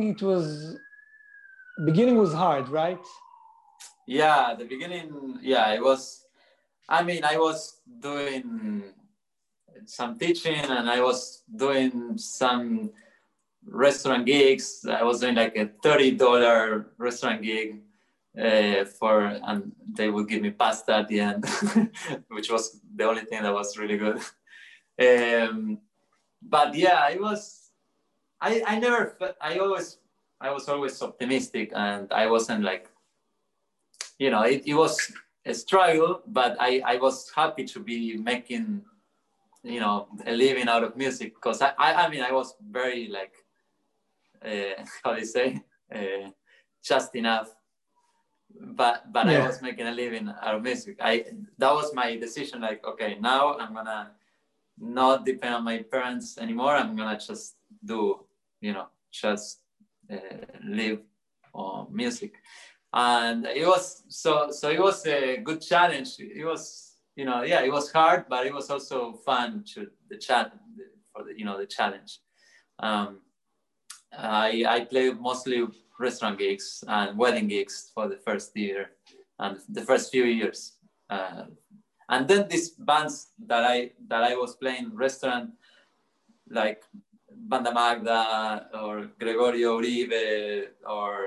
beginning was hard, right? Yeah, the beginning. Yeah, it was. I mean, I was doing some teaching, and I was doing some restaurant gigs. I was doing like a $30 restaurant gig and they would give me pasta at the end, which was the only thing that was really good. But yeah, it was. I never. I was always optimistic, and I wasn't like, it was a struggle, but I was happy to be making, a living out of music, because I mean, I was very like, how do you say, just enough, but I was making a living out of music. That was my decision, like, okay, now I'm gonna not depend on my parents anymore. I'm gonna just do, just live on music. And it was so it was a good challenge. It was, it was hard, but it was also fun to the challenge, for the challenge. I played mostly restaurant gigs and wedding gigs for the first year and the first few years. And then these bands that I was playing restaurant, like Banda Magda or Gregorio Uribe or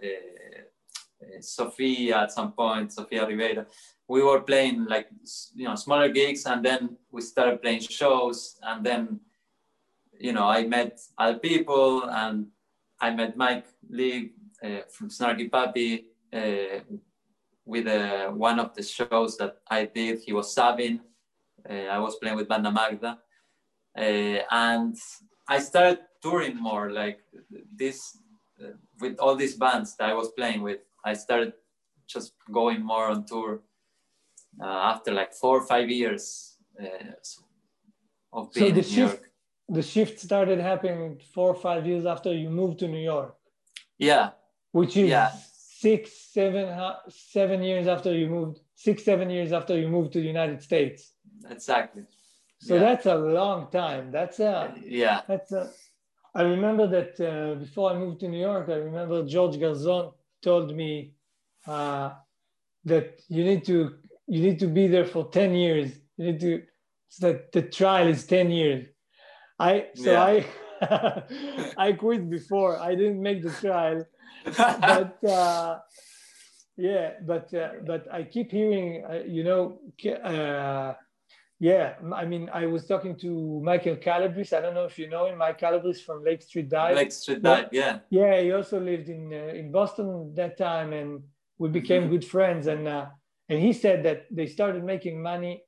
Sofia at some point, Sofia Rivera. We were playing like, smaller gigs, and then we started playing shows, and then, I met other people, and I met Mike Lee from Snarky Puppy with one of the shows that I did. He was subbing. I was playing with Banda Magda. And I started touring more, like this, with all these bands that I was playing with. I started just going more on tour after like 4 or 5 years of being in New York. The shift started happening 4 or 5 years after you moved to New York. Yeah. Which is 7 years after you moved, 7 years after you moved to the United States. Exactly. So that's a long time. I remember that before I moved to New York, I remember George Garzon told me that you need to be there for 10 years. That the trial is 10 years. I quit before. I didn't make the trial, but I keep hearing, I mean, I was talking to Michael Calabris. I don't know if you know him. Mike Calabris from Lake Street Dive. Lake Street Dive, yeah. Yeah, he also lived in Boston that time, and we became good friends. And he said that they started making money.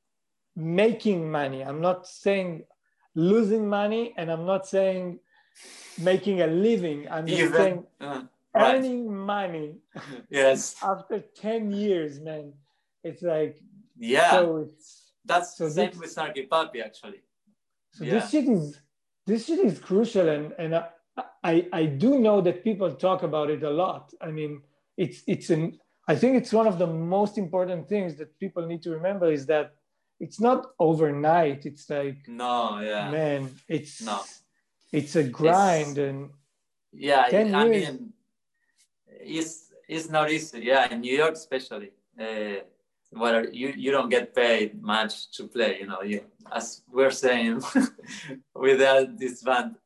I'm not saying losing money, and I'm not saying making a living. I'm just saying earning money. Yes. After 10 years, man. It's like, that's the same with Snarky Puppy, actually. So this shit is crucial, and I do know that people talk about it a lot. I mean, I think it's one of the most important things that people need to remember is that it's not overnight. It's like, man, it's a grind, and 10 years. I mean, it's not easy. Yeah, in New York especially. Where you don't get paid much to play, as we're saying with this band.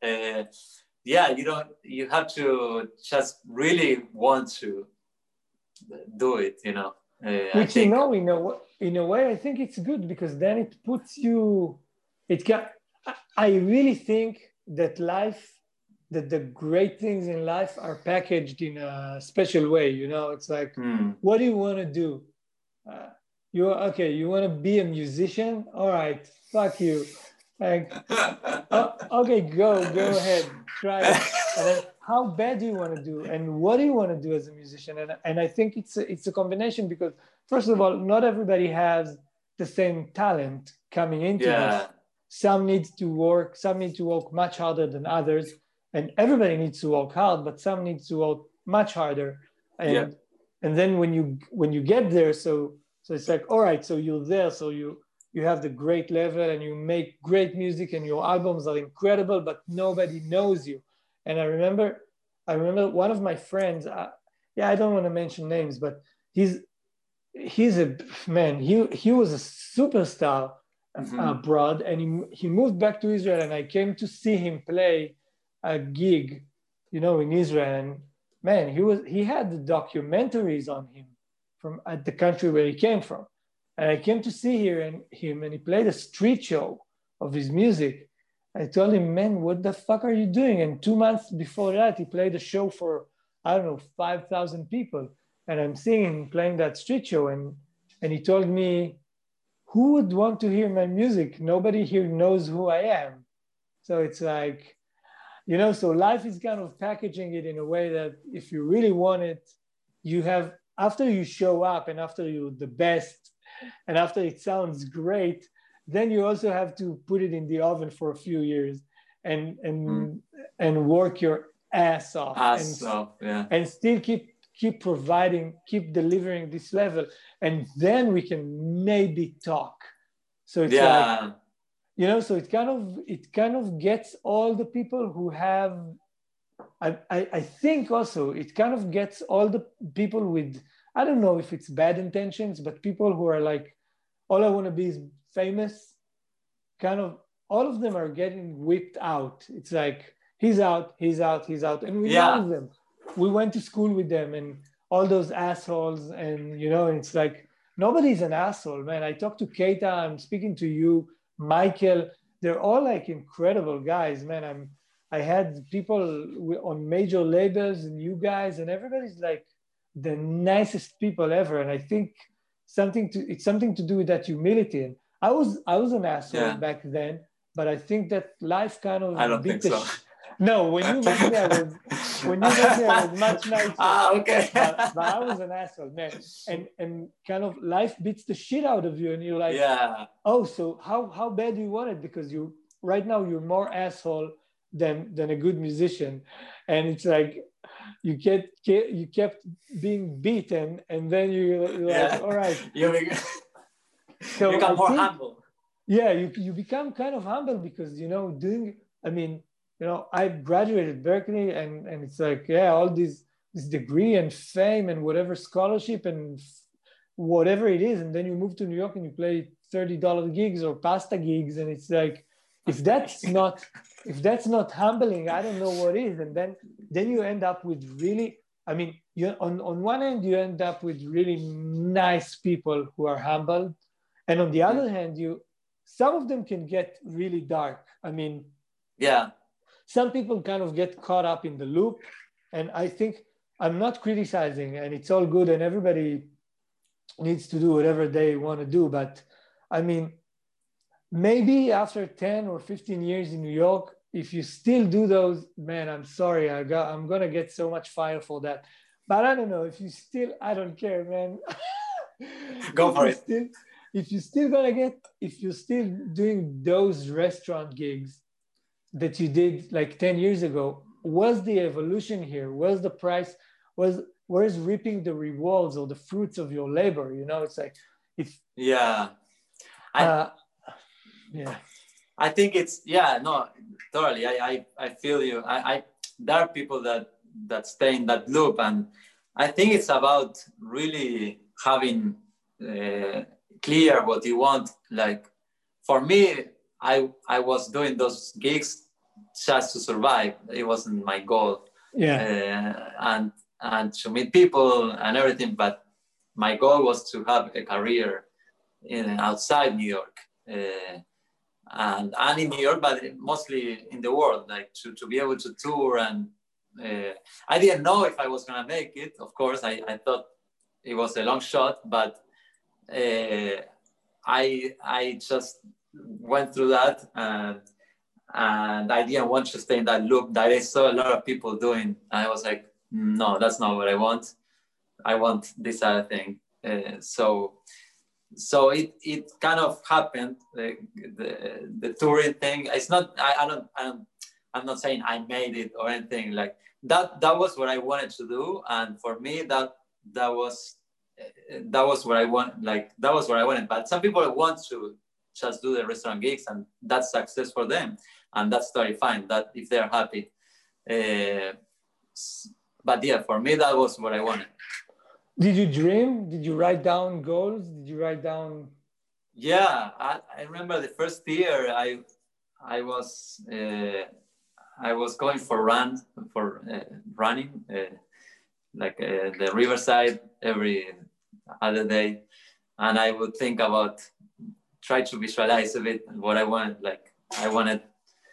You have to just really want to do it, Which, in a way, I think it's good, because then it puts you, I really think that the great things in life are packaged in a special way, it's like, what do you want to do? You want to be a musician? All right, fuck you. Like, okay, go ahead, try it. And then, how bad do you want to do, and what do you want to do as a musician? And I think it's a combination, because first of all, not everybody has the same talent coming into this. Some need to work much harder than others, and everybody needs to work hard, but some need to work much harder. And then when you get there, so it's like, all right, so you're there, so you have the great level and you make great music and your albums are incredible, but nobody knows you. And I remember one of my friends, I don't want to mention names, but he's a man, he was a superstar abroad, and he moved back to Israel, and I came to see him play a gig, in Israel. And man, he had the documentaries on him from at the country where he came from. And I came to see him, and he played a street show of his music. I told him, man, what the fuck are you doing? And 2 months before that, he played a show for, I don't know, 5,000 people. And I'm seeing him playing that street show. And he told me, who would want to hear my music? Nobody here knows who I am. So it's like, so life is kind of packaging it in a way that if you really want it, you have, after you show up and after you're the best and after it sounds great, then you also have to put it in the oven for a few years and work your ass off. And still keep providing, keep delivering this level. And then we can maybe talk. So it's like, so it kind of gets all the people who have, I think also it kind of gets all the people with, I don't know if it's bad intentions, but people who are like, all I want to be is famous, kind of, all of them are getting whipped out. It's like, he's out. And we know them. We went to school with them and all those assholes. And, it's like, nobody's an asshole, man. I talked to Keita, I'm speaking to you, Michael. They're all like incredible guys, man. I had people on major labels and you guys, and everybody's like the nicest people ever. And I think it's something to do with that humility. And I was an asshole back then, but I think that life kind of I don't think so. No, when you met me, I was much nicer. Okay. but I was an asshole, man. And kind of life beats the shit out of you, and you're like, oh, so how bad do you want it? Because right now you're more asshole than a good musician, and it's like you kept being beaten, and then you're like, all right, you become more humble. Yeah, you become kind of humble because I graduated Berkeley and it's like, all this degree and fame and whatever scholarship and whatever it is. And then you move to New York and you play $30 gigs or pasta gigs. And it's like, if that's not humbling, I don't know what is. And then you end up with really, on one end, you end up with really nice people who are humbled. And on the other hand, some of them can get really dark. Some people kind of get caught up in the loop. And I think I'm not criticizing, and it's all good and everybody needs to do whatever they want to do. But maybe after 10 or 15 years in New York, if you still do those, man, I'm sorry, I'm going to get so much fire for that. But I don't know, I don't care, man. Go for it. If you're still doing those restaurant gigs that you did like 10 years ago, what's the evolution here? Where's the price? Where's reaping the rewards or the fruits of your labor? It's like, I think it's, totally. I feel you. There are people that stay in that loop, and I think it's about really having clear what you want. Like for me, I was doing those gigs just to survive. It wasn't my goal. And to meet people and everything, but my goal was to have a career outside New York. And in New York, but mostly in the world, like to be able to tour. And I didn't know if I was gonna make it. Of course, I thought it was a long shot, but I just went through that, and I didn't want to stay in that loop that I saw a lot of people doing. I was like, no, that's not what I want. I want this other thing. So it kind of happened. The touring thing. It's not. I don't. I'm not saying I made it or anything like that. That was what I wanted to do, and for me, that was what I want. Like that was what I wanted. But some people want to just do the restaurant gigs, and that's success for them, and that's totally fine. That if they're happy. But yeah, for me, that was what I wanted. Did you dream? Did you write down goals? Did you write down? Yeah, I remember the first year I was going for running the riverside every other day, and I would think about, try to visualize a bit what I wanted. Like I wanted,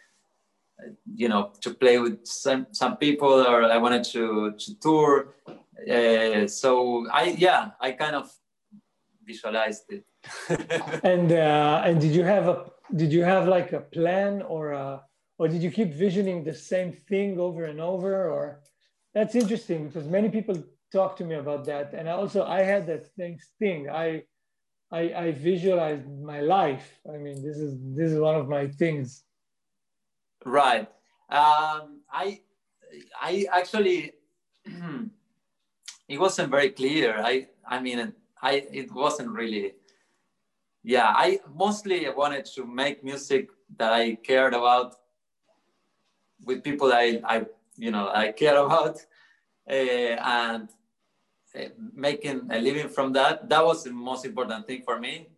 to play with some people, or I wanted to tour. So I kind of visualized it. And did you have like a plan, or did you keep visioning the same thing over and over? Or that's interesting because many people talk to me about that, and I had that same thing. I visualized my life. I mean, this is one of my things. Right. I actually it wasn't very clear. It wasn't really. Yeah, I mostly wanted to make music that I cared about with people I care about, and making a living from that. That was the most important thing for me.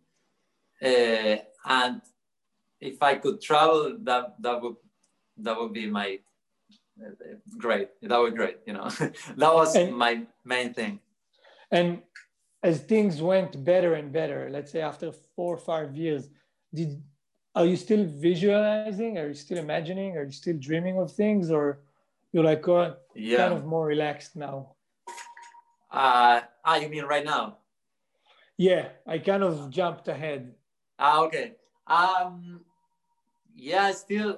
And if I could travel, that would be my great. That would be great. That was my main thing. And as things went better and better, let's say after 4 or 5 years, are you still visualizing? Are you still imagining? Are you still dreaming of things, or you're like kind of more relaxed now? You mean right now? Yeah, I kind of jumped ahead. Okay. Yeah, still.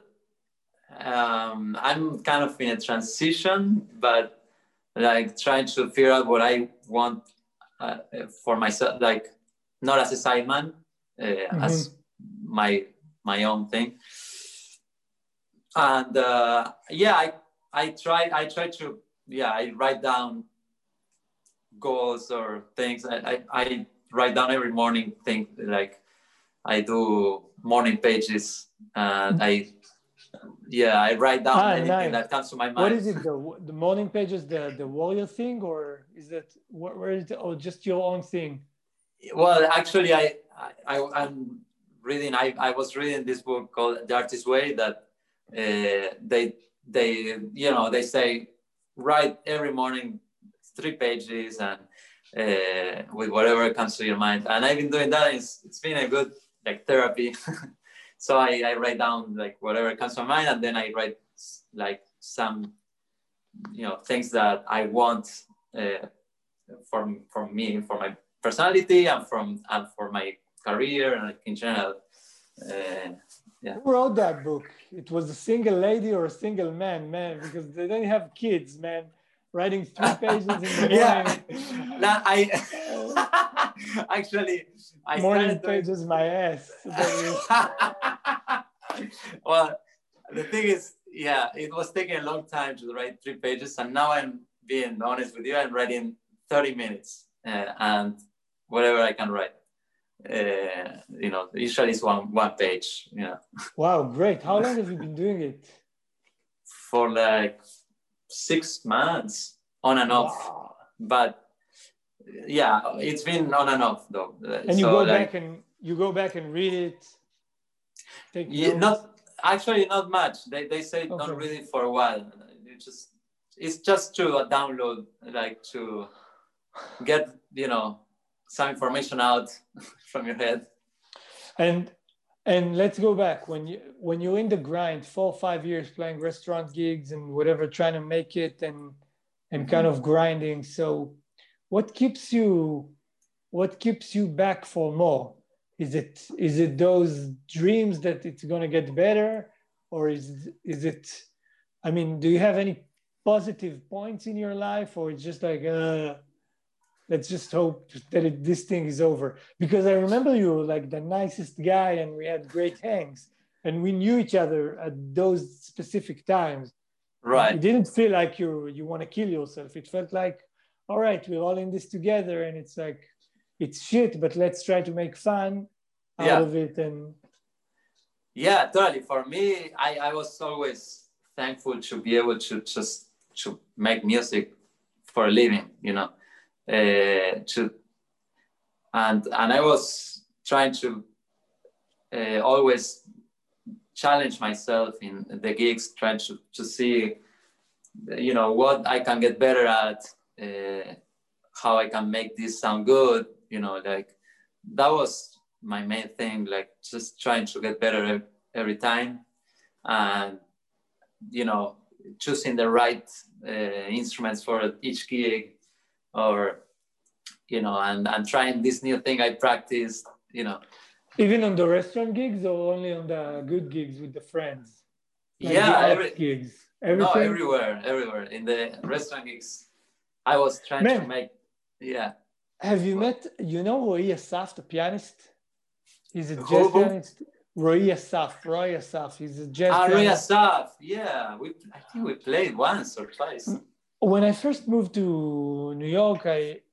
I'm kind of in a transition, but like trying to figure out what I want for myself, like not as a sideman, as my own thing. And I try to I write down goals or things. I write down every morning thing, like I do morning pages, and I write down anything that comes to my mind. What is it? The morning pages, the warrior thing, or is it where is it, or just your own thing? Well, actually, I'm reading. I was reading this book called The Artist's Way, that they say write every morning 3 pages, and with whatever comes to your mind. And I've been doing that. It's been a good like therapy. So I write down like whatever comes to my mind, and then I write like some things that I want from me, for my personality, and for my career, and in general. Who wrote that book? It was a single lady or a single man, because they don't have kids, man. Writing 3 pages in the morning. I morning pages my ass. Well, the thing is, it was taking a long time to write 3 pages, and now I'm being honest with you. I'm writing 30 minutes, and whatever I can write. Usually it's one page. Wow, great! How long have you been doing it? For like 6 months, on and off. Wow. But it's been on and off though. And you go back and read it. Not much. They say don't read it for a while. It's just to download, like to get some information out from your head. And let's go back when you're in the grind, 4 or 5 years playing restaurant gigs and whatever, trying to make it and kind of grinding. So what keeps you back for more? Is it those dreams that it's going to get better, or is it, I mean, do you have any positive points in your life, or it's just like, let's just hope that this thing is over? Because I remember you were like the nicest guy and we had great hangs. and we knew each other at those specific times. Right. It didn't feel like you want to kill yourself. It felt like, all right, we're all in this together, and it's like, it's shit, but let's try to make fun out of it. And yeah, totally. For me, I was always thankful to be able to just to make music for a living, you know. And I was trying to always challenge myself in the gigs, trying to see, you know, what I can get better at, how I can make this sound good, you know, like that was my main thing, like just trying to get better every time, and, you know, choosing the right instruments for each gig, or, you know, and trying this new thing I practiced, you know. Even on the restaurant gigs, or only on the good gigs with the friends? Like gigs? Everything? No, everywhere. In the restaurant gigs, I was trying to make, Have you met, you know, Roy Asaf, the pianist? He's a jazz pianist. Roy Asaf. He's a jazz pianist. Roy Asaf, yeah. I think we played once or twice. When I first moved to New York,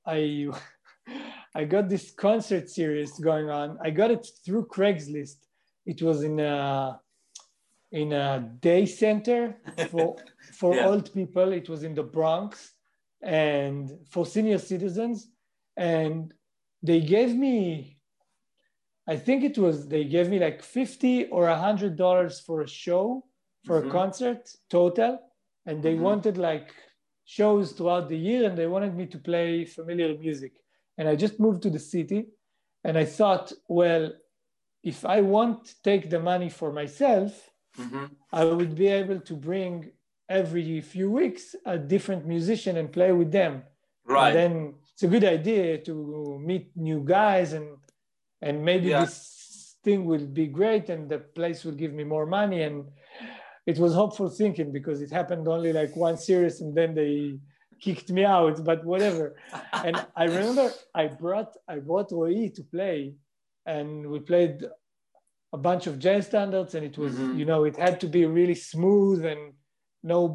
I got this concert series going on. I got it through Craigslist. It was in a day center for old people. It was in the Bronx, and for senior citizens. And they gave me, I think they gave me like $50 or $100 for a show, for a concert total. And they wanted like shows throughout the year, and they wanted me to play familiar music. And I just moved to the city, and I thought, well, if I won't take the money for myself, I would be able to bring every few weeks a different musician and play with them. Right. And then it's a good idea to meet new guys, and maybe this thing will be great, and the place will give me more money. And it was hopeful thinking, because it happened only like one series, and then they kicked me out, but whatever. And I remember I brought Roy to play, and we played a bunch of jazz standards, and it was, you know, it had to be really smooth and not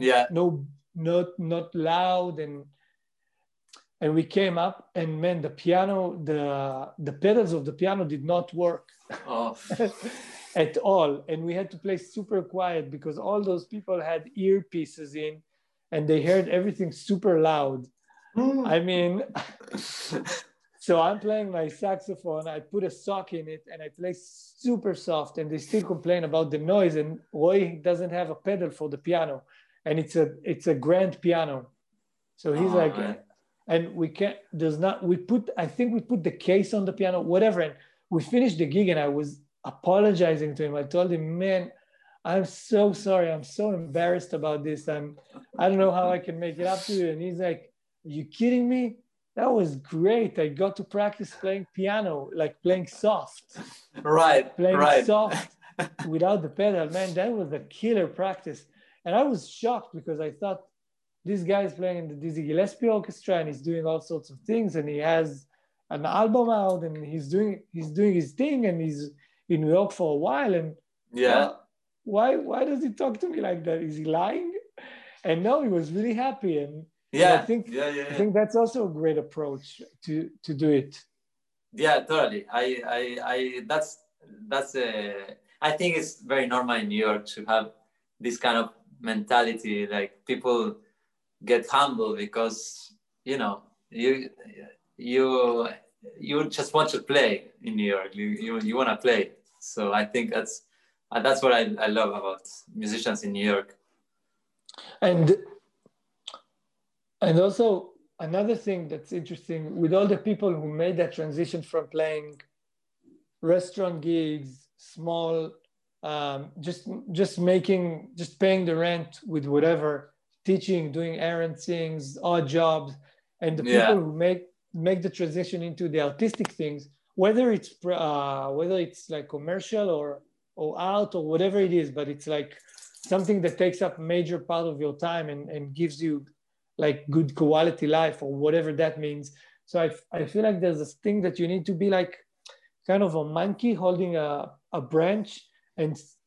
loud, and we came up, and man, the piano, the pedals of the piano did not work at all, and we had to play super quiet because all those people had earpieces in, and they heard everything super loud. I mean, so I'm playing my saxophone, I put a sock in it, and I play super soft, and they still complain about the noise, and Roy doesn't have a pedal for the piano, and it's a grand piano. So he's and we can't, I think we put the case on the piano, whatever, and we finished the gig, and I was apologizing to him. I told him, man, I'm so sorry. I'm so embarrassed about this. I don't know how I can make it up to you. And he's like, are you kidding me? That was great. I got to practice playing piano, like playing soft. Playing soft without the pedal. Man, that was a killer practice. And I was shocked, because I thought, this guy is playing in the Dizzy Gillespie Orchestra, and he's doing all sorts of things, and he has an album out, and he's doing his thing, and he's in New York for a while. And why does he talk to me like that? Is he lying? And no, he was really happy. And I think that's also a great approach to do it. Yeah, totally. I think it's very normal in New York to have this kind of mentality. Like, people get humble because, you know, you just want to play in New York. You want to play. So I think that's what I love about musicians in New York. And also another thing that's interesting with all the people who made that transition from playing restaurant gigs, small, just paying the rent with whatever, teaching, doing errand things, odd jobs, and the people who make the transition into the artistic things, whether it's like commercial or art or whatever it is, but it's like something that takes up a major part of your time and gives you like good quality life or whatever that means. So I feel like there's this thing that you need to be like kind of a monkey holding a branch and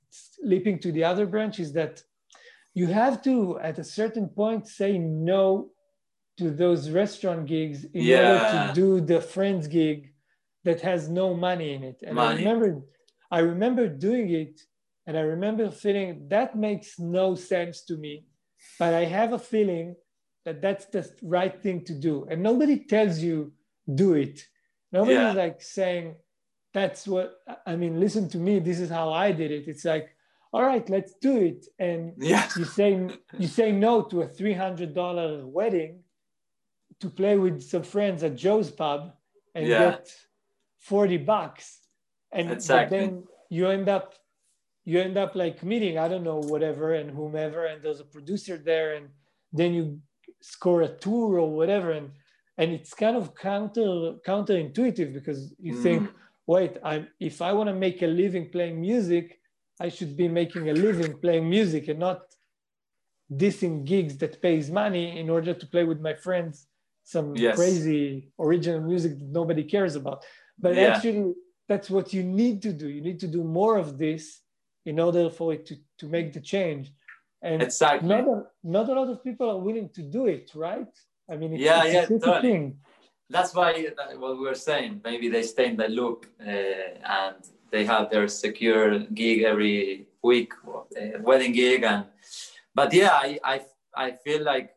leaping to the other branch is that you have to, at a certain point, say no to those restaurant gigs in order to do the friends gig that has no money in it. And I remember doing it, and I remember feeling that makes no sense to me, but I have a feeling that that's the right thing to do. And nobody tells you do it. Nobody's like saying, that's what, I mean, listen to me, this is how I did it. It's like, all right, let's do it. And you say no to a $300 wedding to play with some friends at Joe's Pub and get $40. And then you end up like meeting, I don't know, whatever, and whomever, and there's a producer there, and then you score a tour or whatever. And it's kind of counterintuitive, because you think, wait, if I want to make a living playing music, I should be making a living playing music and not dissing gigs that pays money in order to play with my friends some crazy original music that nobody cares about. But actually, that's what you need to do. You need to do more of this in order for it to make the change. And not a lot of people are willing to do it, right? I mean, it's a totally. Thing. That's why what we were saying, maybe they stay in the loop and they have their secure gig every week, wedding gig. But I feel like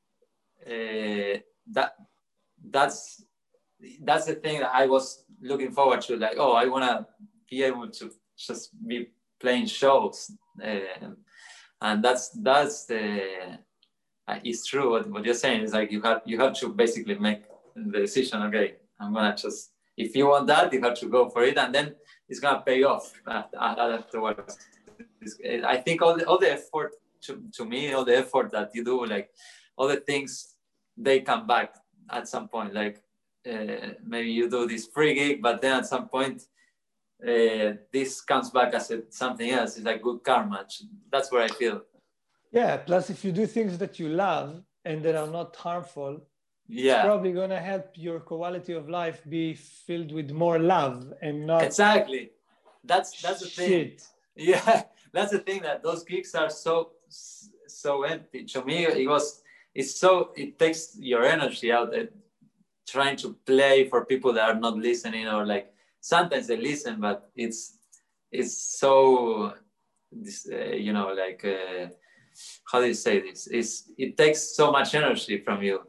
that's the thing that I was looking forward to. Like, I want to be able to just be playing shows. And that's the, it's true what you're saying. Is like you have to basically make the decision. Okay, I'm gonna just, if you want that, you have to go for it, and then it's gonna pay off afterwards. I think all the effort to me, all the effort that you do, like all the things, they come back at some point. Like maybe you do this free gig, but then at some point this comes back as something else. It's like good karma. That's what I feel. Yeah. Plus, if you do things that you love and that are not harmful, it's probably going to help your quality of life be filled with more love and not exactly. That's the thing. Yeah, that's the thing, that those gigs are so empty. To me, it takes your energy out trying to play for people that are not listening, or like sometimes they listen, but it's so like how do you say this? It takes so much energy from you,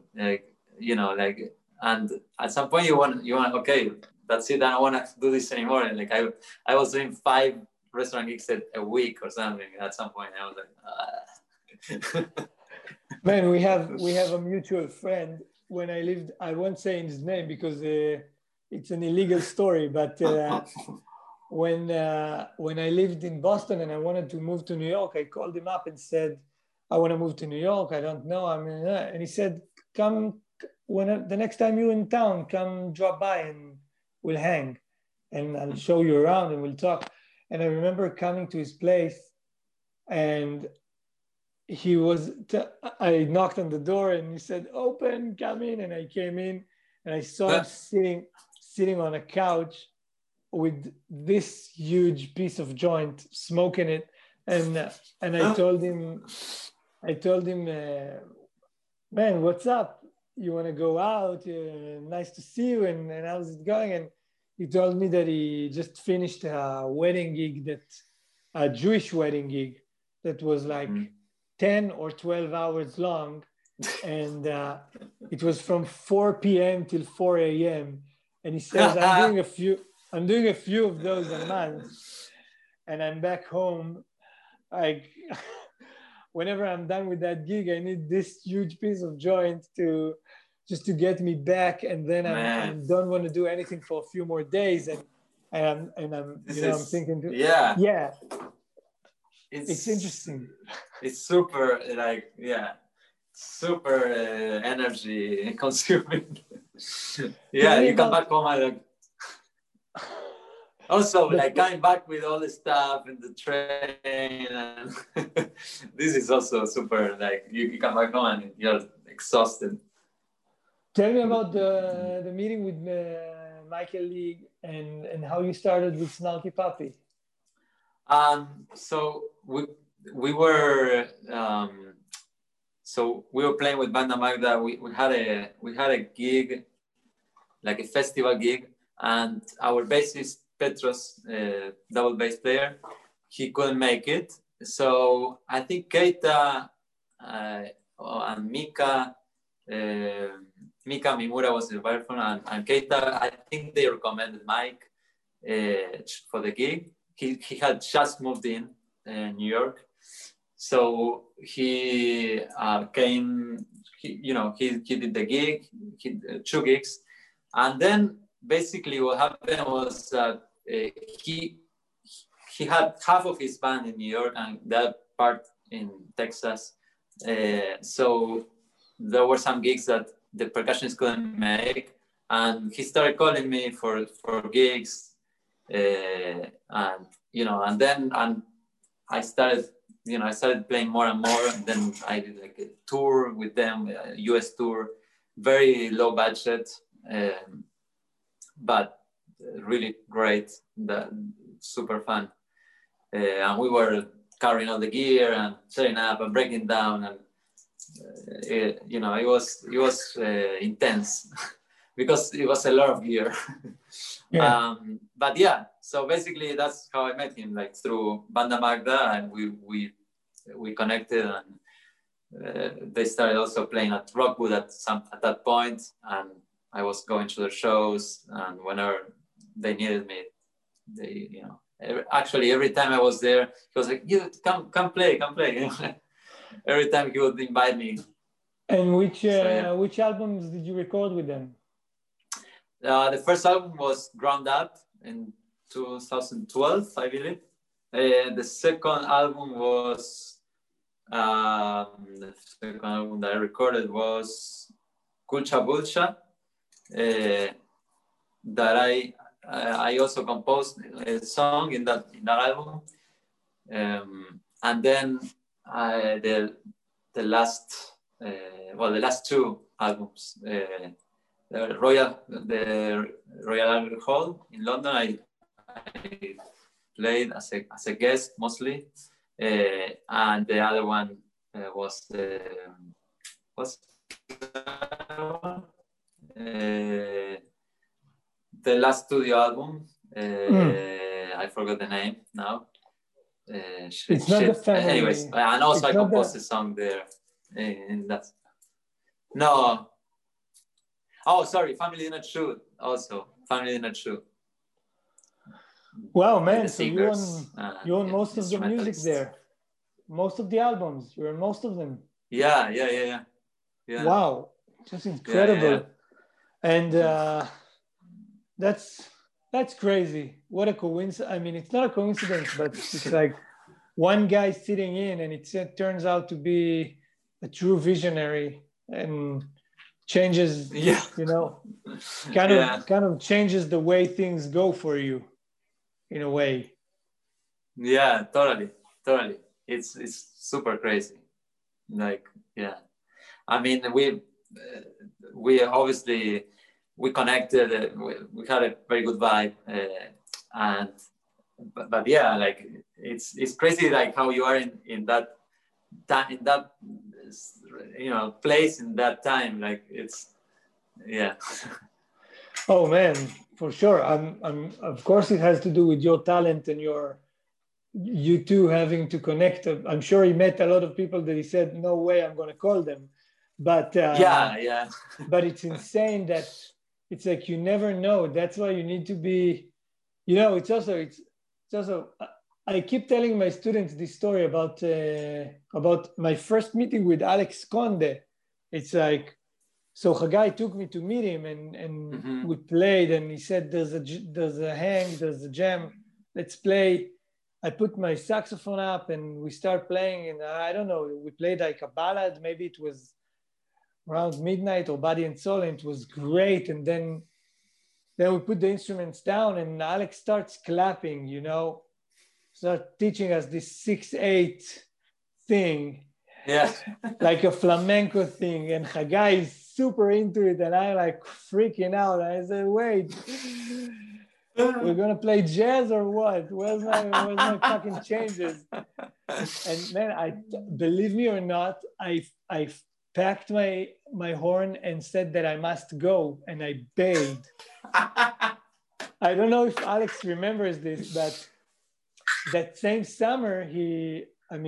and at some point you want okay, that's it, I don't want to do this anymore. And like I was doing 5 restaurant gigs a week or something. At some point I was like Man, we have a mutual friend. When I won't say his name because it's an illegal story, but when I lived in Boston and I wanted to move to New York, I called him up and said, I want to move to New York. I don't know. And he said, come the next time you're in town, come drop by and we'll hang and I'll show you around and we'll talk. And I remember coming to his place, and I knocked on the door and he said, open, come in. And I came in and I saw him sitting on a couch with this huge piece of joint, smoking it. And I told him, man, what's up? You want to go out? Nice to see you. And how's it going? And he told me that he just finished a wedding gig, a Jewish wedding gig that was like 10 or 12 hours long. And it was from 4 p.m. till 4 a.m. And he says, I'm doing a few of those a month. And I'm back home. Like, whenever I'm done with that gig, I need this huge piece of joint to get me back. And then I don't want to do anything for a few more days. And I'm thinking, it's interesting. It's super, super energy consuming. You come back home and like, also like coming back with all the stuff and the train, and this is also super, like you come back home and you're exhausted. Tell me about the meeting with Michael League and how you started with Snarky Puppy. So we were so we were playing with Banda Magda. We had a gig, like a festival gig, and our bassist Petros, double bass player, he couldn't make it. So I think Keita and Mika Mimura was the vibraphone, and Keita, I think they recommended Mike for the gig. He had just moved in New York, so he came. He did the gig, two gigs, and then basically what happened was that he had half of his band in New York and that part in Texas. So there were some gigs that the percussionist couldn't make, and he started calling me for gigs, and then I started playing more and more, and then I did like a tour with them, a US tour, very low budget, but really great, super fun, and we were carrying all the gear and setting up and breaking down, and it was intense because it was a lot of gear. Yeah. But yeah, so basically that's how I met him, like through Banda Magda, and we connected, and they started also playing at Rockwood at that point, and I was going to their shows, and whenever they needed me, actually every time I was there, he was like, "You come play." Every time he would invite me. And which albums did you record with them? The first album was Ground Up in 2012, I believe. The second album was the second album that I recorded was Kulcha Bulcha, that I also composed a song in that album, and then the last two albums, the Royal Albert Hall in London, I played as a guest mostly, and the other one was the last studio album. I forgot the name now. It's not the family. Anyways, and also I composed a song there in that. No. Oh, sorry, Family Not True. Also, Family Not True. Wow, man! So you own most of the music there, most of the albums. You own most of them. Yeah. Wow, just incredible. Yeah. And that's crazy. What a coincidence! I mean, it's not a coincidence, but it's like one guy sitting in, and it turns out to be a true visionary and changes. Kind of changes the way things go for you, in a way. Yeah, totally. It's super crazy. Like, yeah. I mean, we obviously we connected. We had a very good vibe, but yeah, like it's crazy, like how you are in that place in that time. Like yeah. Oh man, for sure. Of course it has to do with your talent and you two having to connect. I'm sure he met a lot of people that he said, "No way, I'm going to call them." But yeah. But it's insane that it's like you never know. That's why you need to be. It's also. I keep telling my students this story about my first meeting with Alex Conde. It's like, so Hagai took me to meet him, and we played, and he said, there's a jam, let's play. I put my saxophone up and we start playing, and I don't know, we played like a ballad, maybe it was around midnight, or Body and Soul, and it was great. And then we put the instruments down, and Alex starts clapping, start teaching us this 6/8 thing. Yeah. Like a flamenco thing. And Hagai is super into it, and I'm like freaking out. I said, wait. we're gonna play jazz or what? Where's my fucking changes? And man, believe me or not, I packed my horn and said that I must go, and I begged. I don't know if Alex remembers this, but that same summer he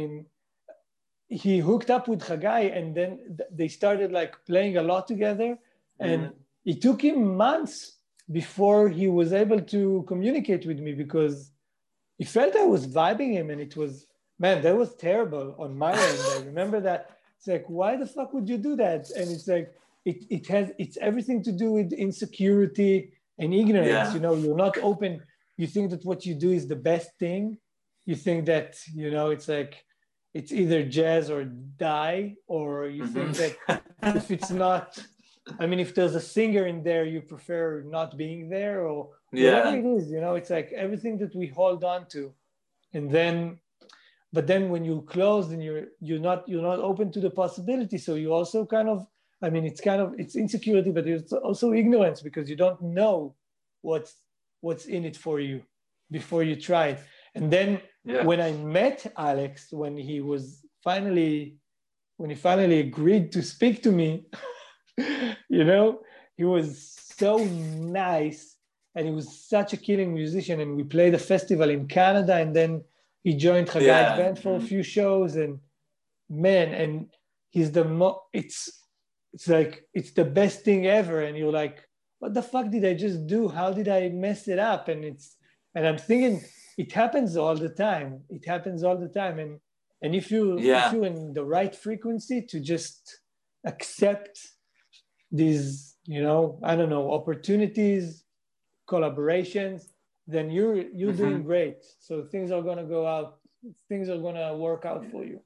hooked up with Chagai, and then they started like playing a lot together, and it took him months before he was able to communicate with me, because he felt I was vibing him, and it was, man, that was terrible on my end. I remember that. It's like, why the fuck would you do that? And it's like, it's everything to do with insecurity and ignorance. Yeah. You know, you're not open. You think that what you do is the best thing. You think that, you know, it's like, it's either jazz or die, or you think that if it's not, I mean, if there's a singer in there, you prefer not being there, or whatever it is, you know, it's like everything that we hold on to. And then, but then when you close and you're not open to the possibility. So you also kind of, I mean, it's insecurity, but it's also ignorance, because you don't know what's in it for you before you try it. And then when I met Alex, when he finally agreed to speak to me, you know, he was so nice, and he was such a killing musician. And we played a festival in Canada, and then he joined Chagai's band for a few shows, and man, and he's it's like, it's the best thing ever. And you're like, what the fuck did I just do? How did I mess it up? And I'm thinking, it happens all the time. It happens all the time. And if you're in the right frequency to just accept these, you know, I don't know, opportunities, collaborations, then you're doing great. So things are gonna go out. Things are gonna work out for you.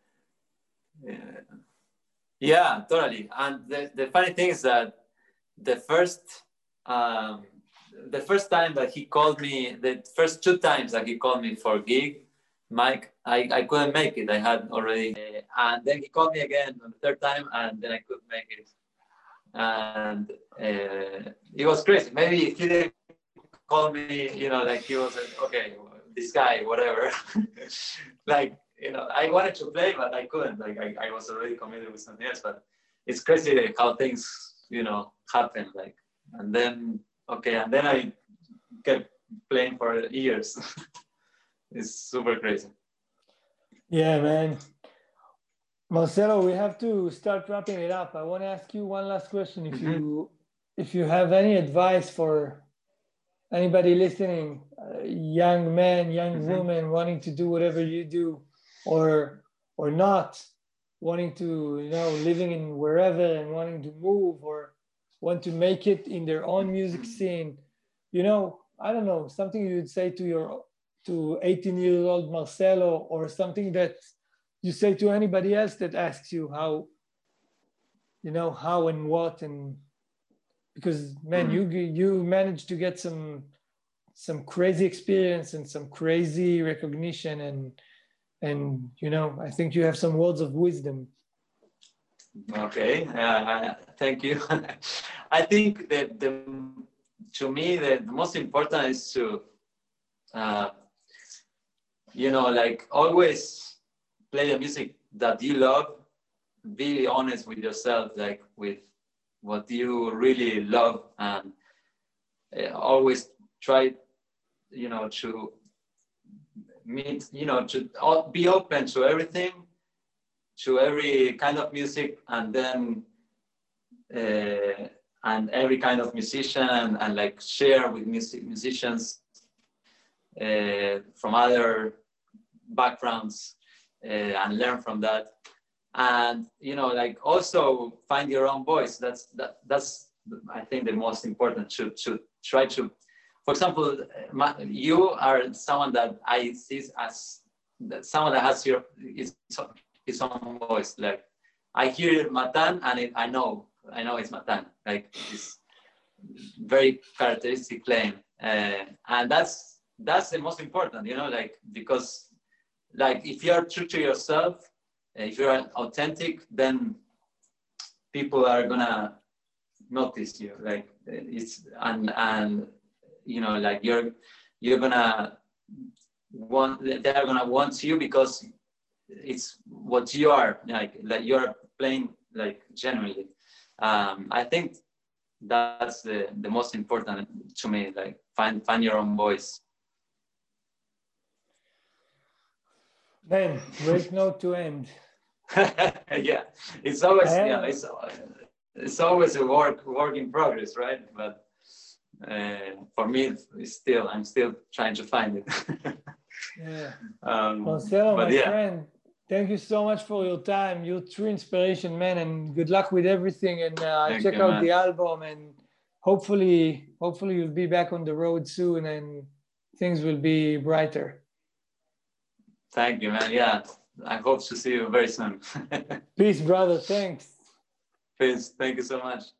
Yeah, totally. And the funny thing is that the first time that he called me, the first 2 times that he called me for a gig, Mike, I couldn't make it. I had already, and then he called me again on the 3rd time, and then I couldn't make it. And it was crazy. Maybe if he didn't call me, you know, like he was okay, this guy, whatever. Like, you know, I wanted to play, but I couldn't. Like I was already committed with something else. But it's crazy how things, you know, happen. Like, and then I kept playing for years. It's super crazy. Yeah, man. Marcelo, we have to start wrapping it up. I want to ask you one last question. If you have any advice for anybody listening, young man, young woman wanting to do whatever you do, or not wanting to, you know, living in wherever and wanting to move, or want to make it in their own music scene, you know, I don't know, something you would say to 18-year-old Marcelo, or something that you say to anybody else that asks you how, you know, how and what, and because, man, you managed to get some crazy experience and some crazy recognition, and you know, I think you have some words of wisdom. Okay, thank you. I think that to me the most important is to, you know, like always play the music that you love. Be honest with yourself, like with what you really love, and always try, you know, to meet, you know, to be open to everything, to every kind of music, and then and every kind of musician, and like share with musicians from other backgrounds, and learn from that. And, you know, like also find your own voice. That's I think the most important, to try to, for example, you are someone that I see as someone that has his own voice. Like I hear Matan, and I know it's Matan. Like it's very characteristic playing, and that's the most important, you know, like, because like if you're true to yourself, if you're authentic, then people are gonna notice you. Like it's and you know, like you're gonna they're gonna want you because it's what you are, like you're playing like genuinely. I think that's the most important to me, like find your own voice. Man, great note to end. Yeah, it's always it's always a work in progress, right? But for me, I'm still trying to find it. Yeah. Marcelo, my yeah. friend, thank you so much for your time. You're true inspiration, man, and good luck with everything. And check out the album, and hopefully you'll be back on the road soon, and things will be brighter. Thank you, man. Yeah, I hope to see you very soon. Peace, brother. Thanks. Peace. Thank you so much.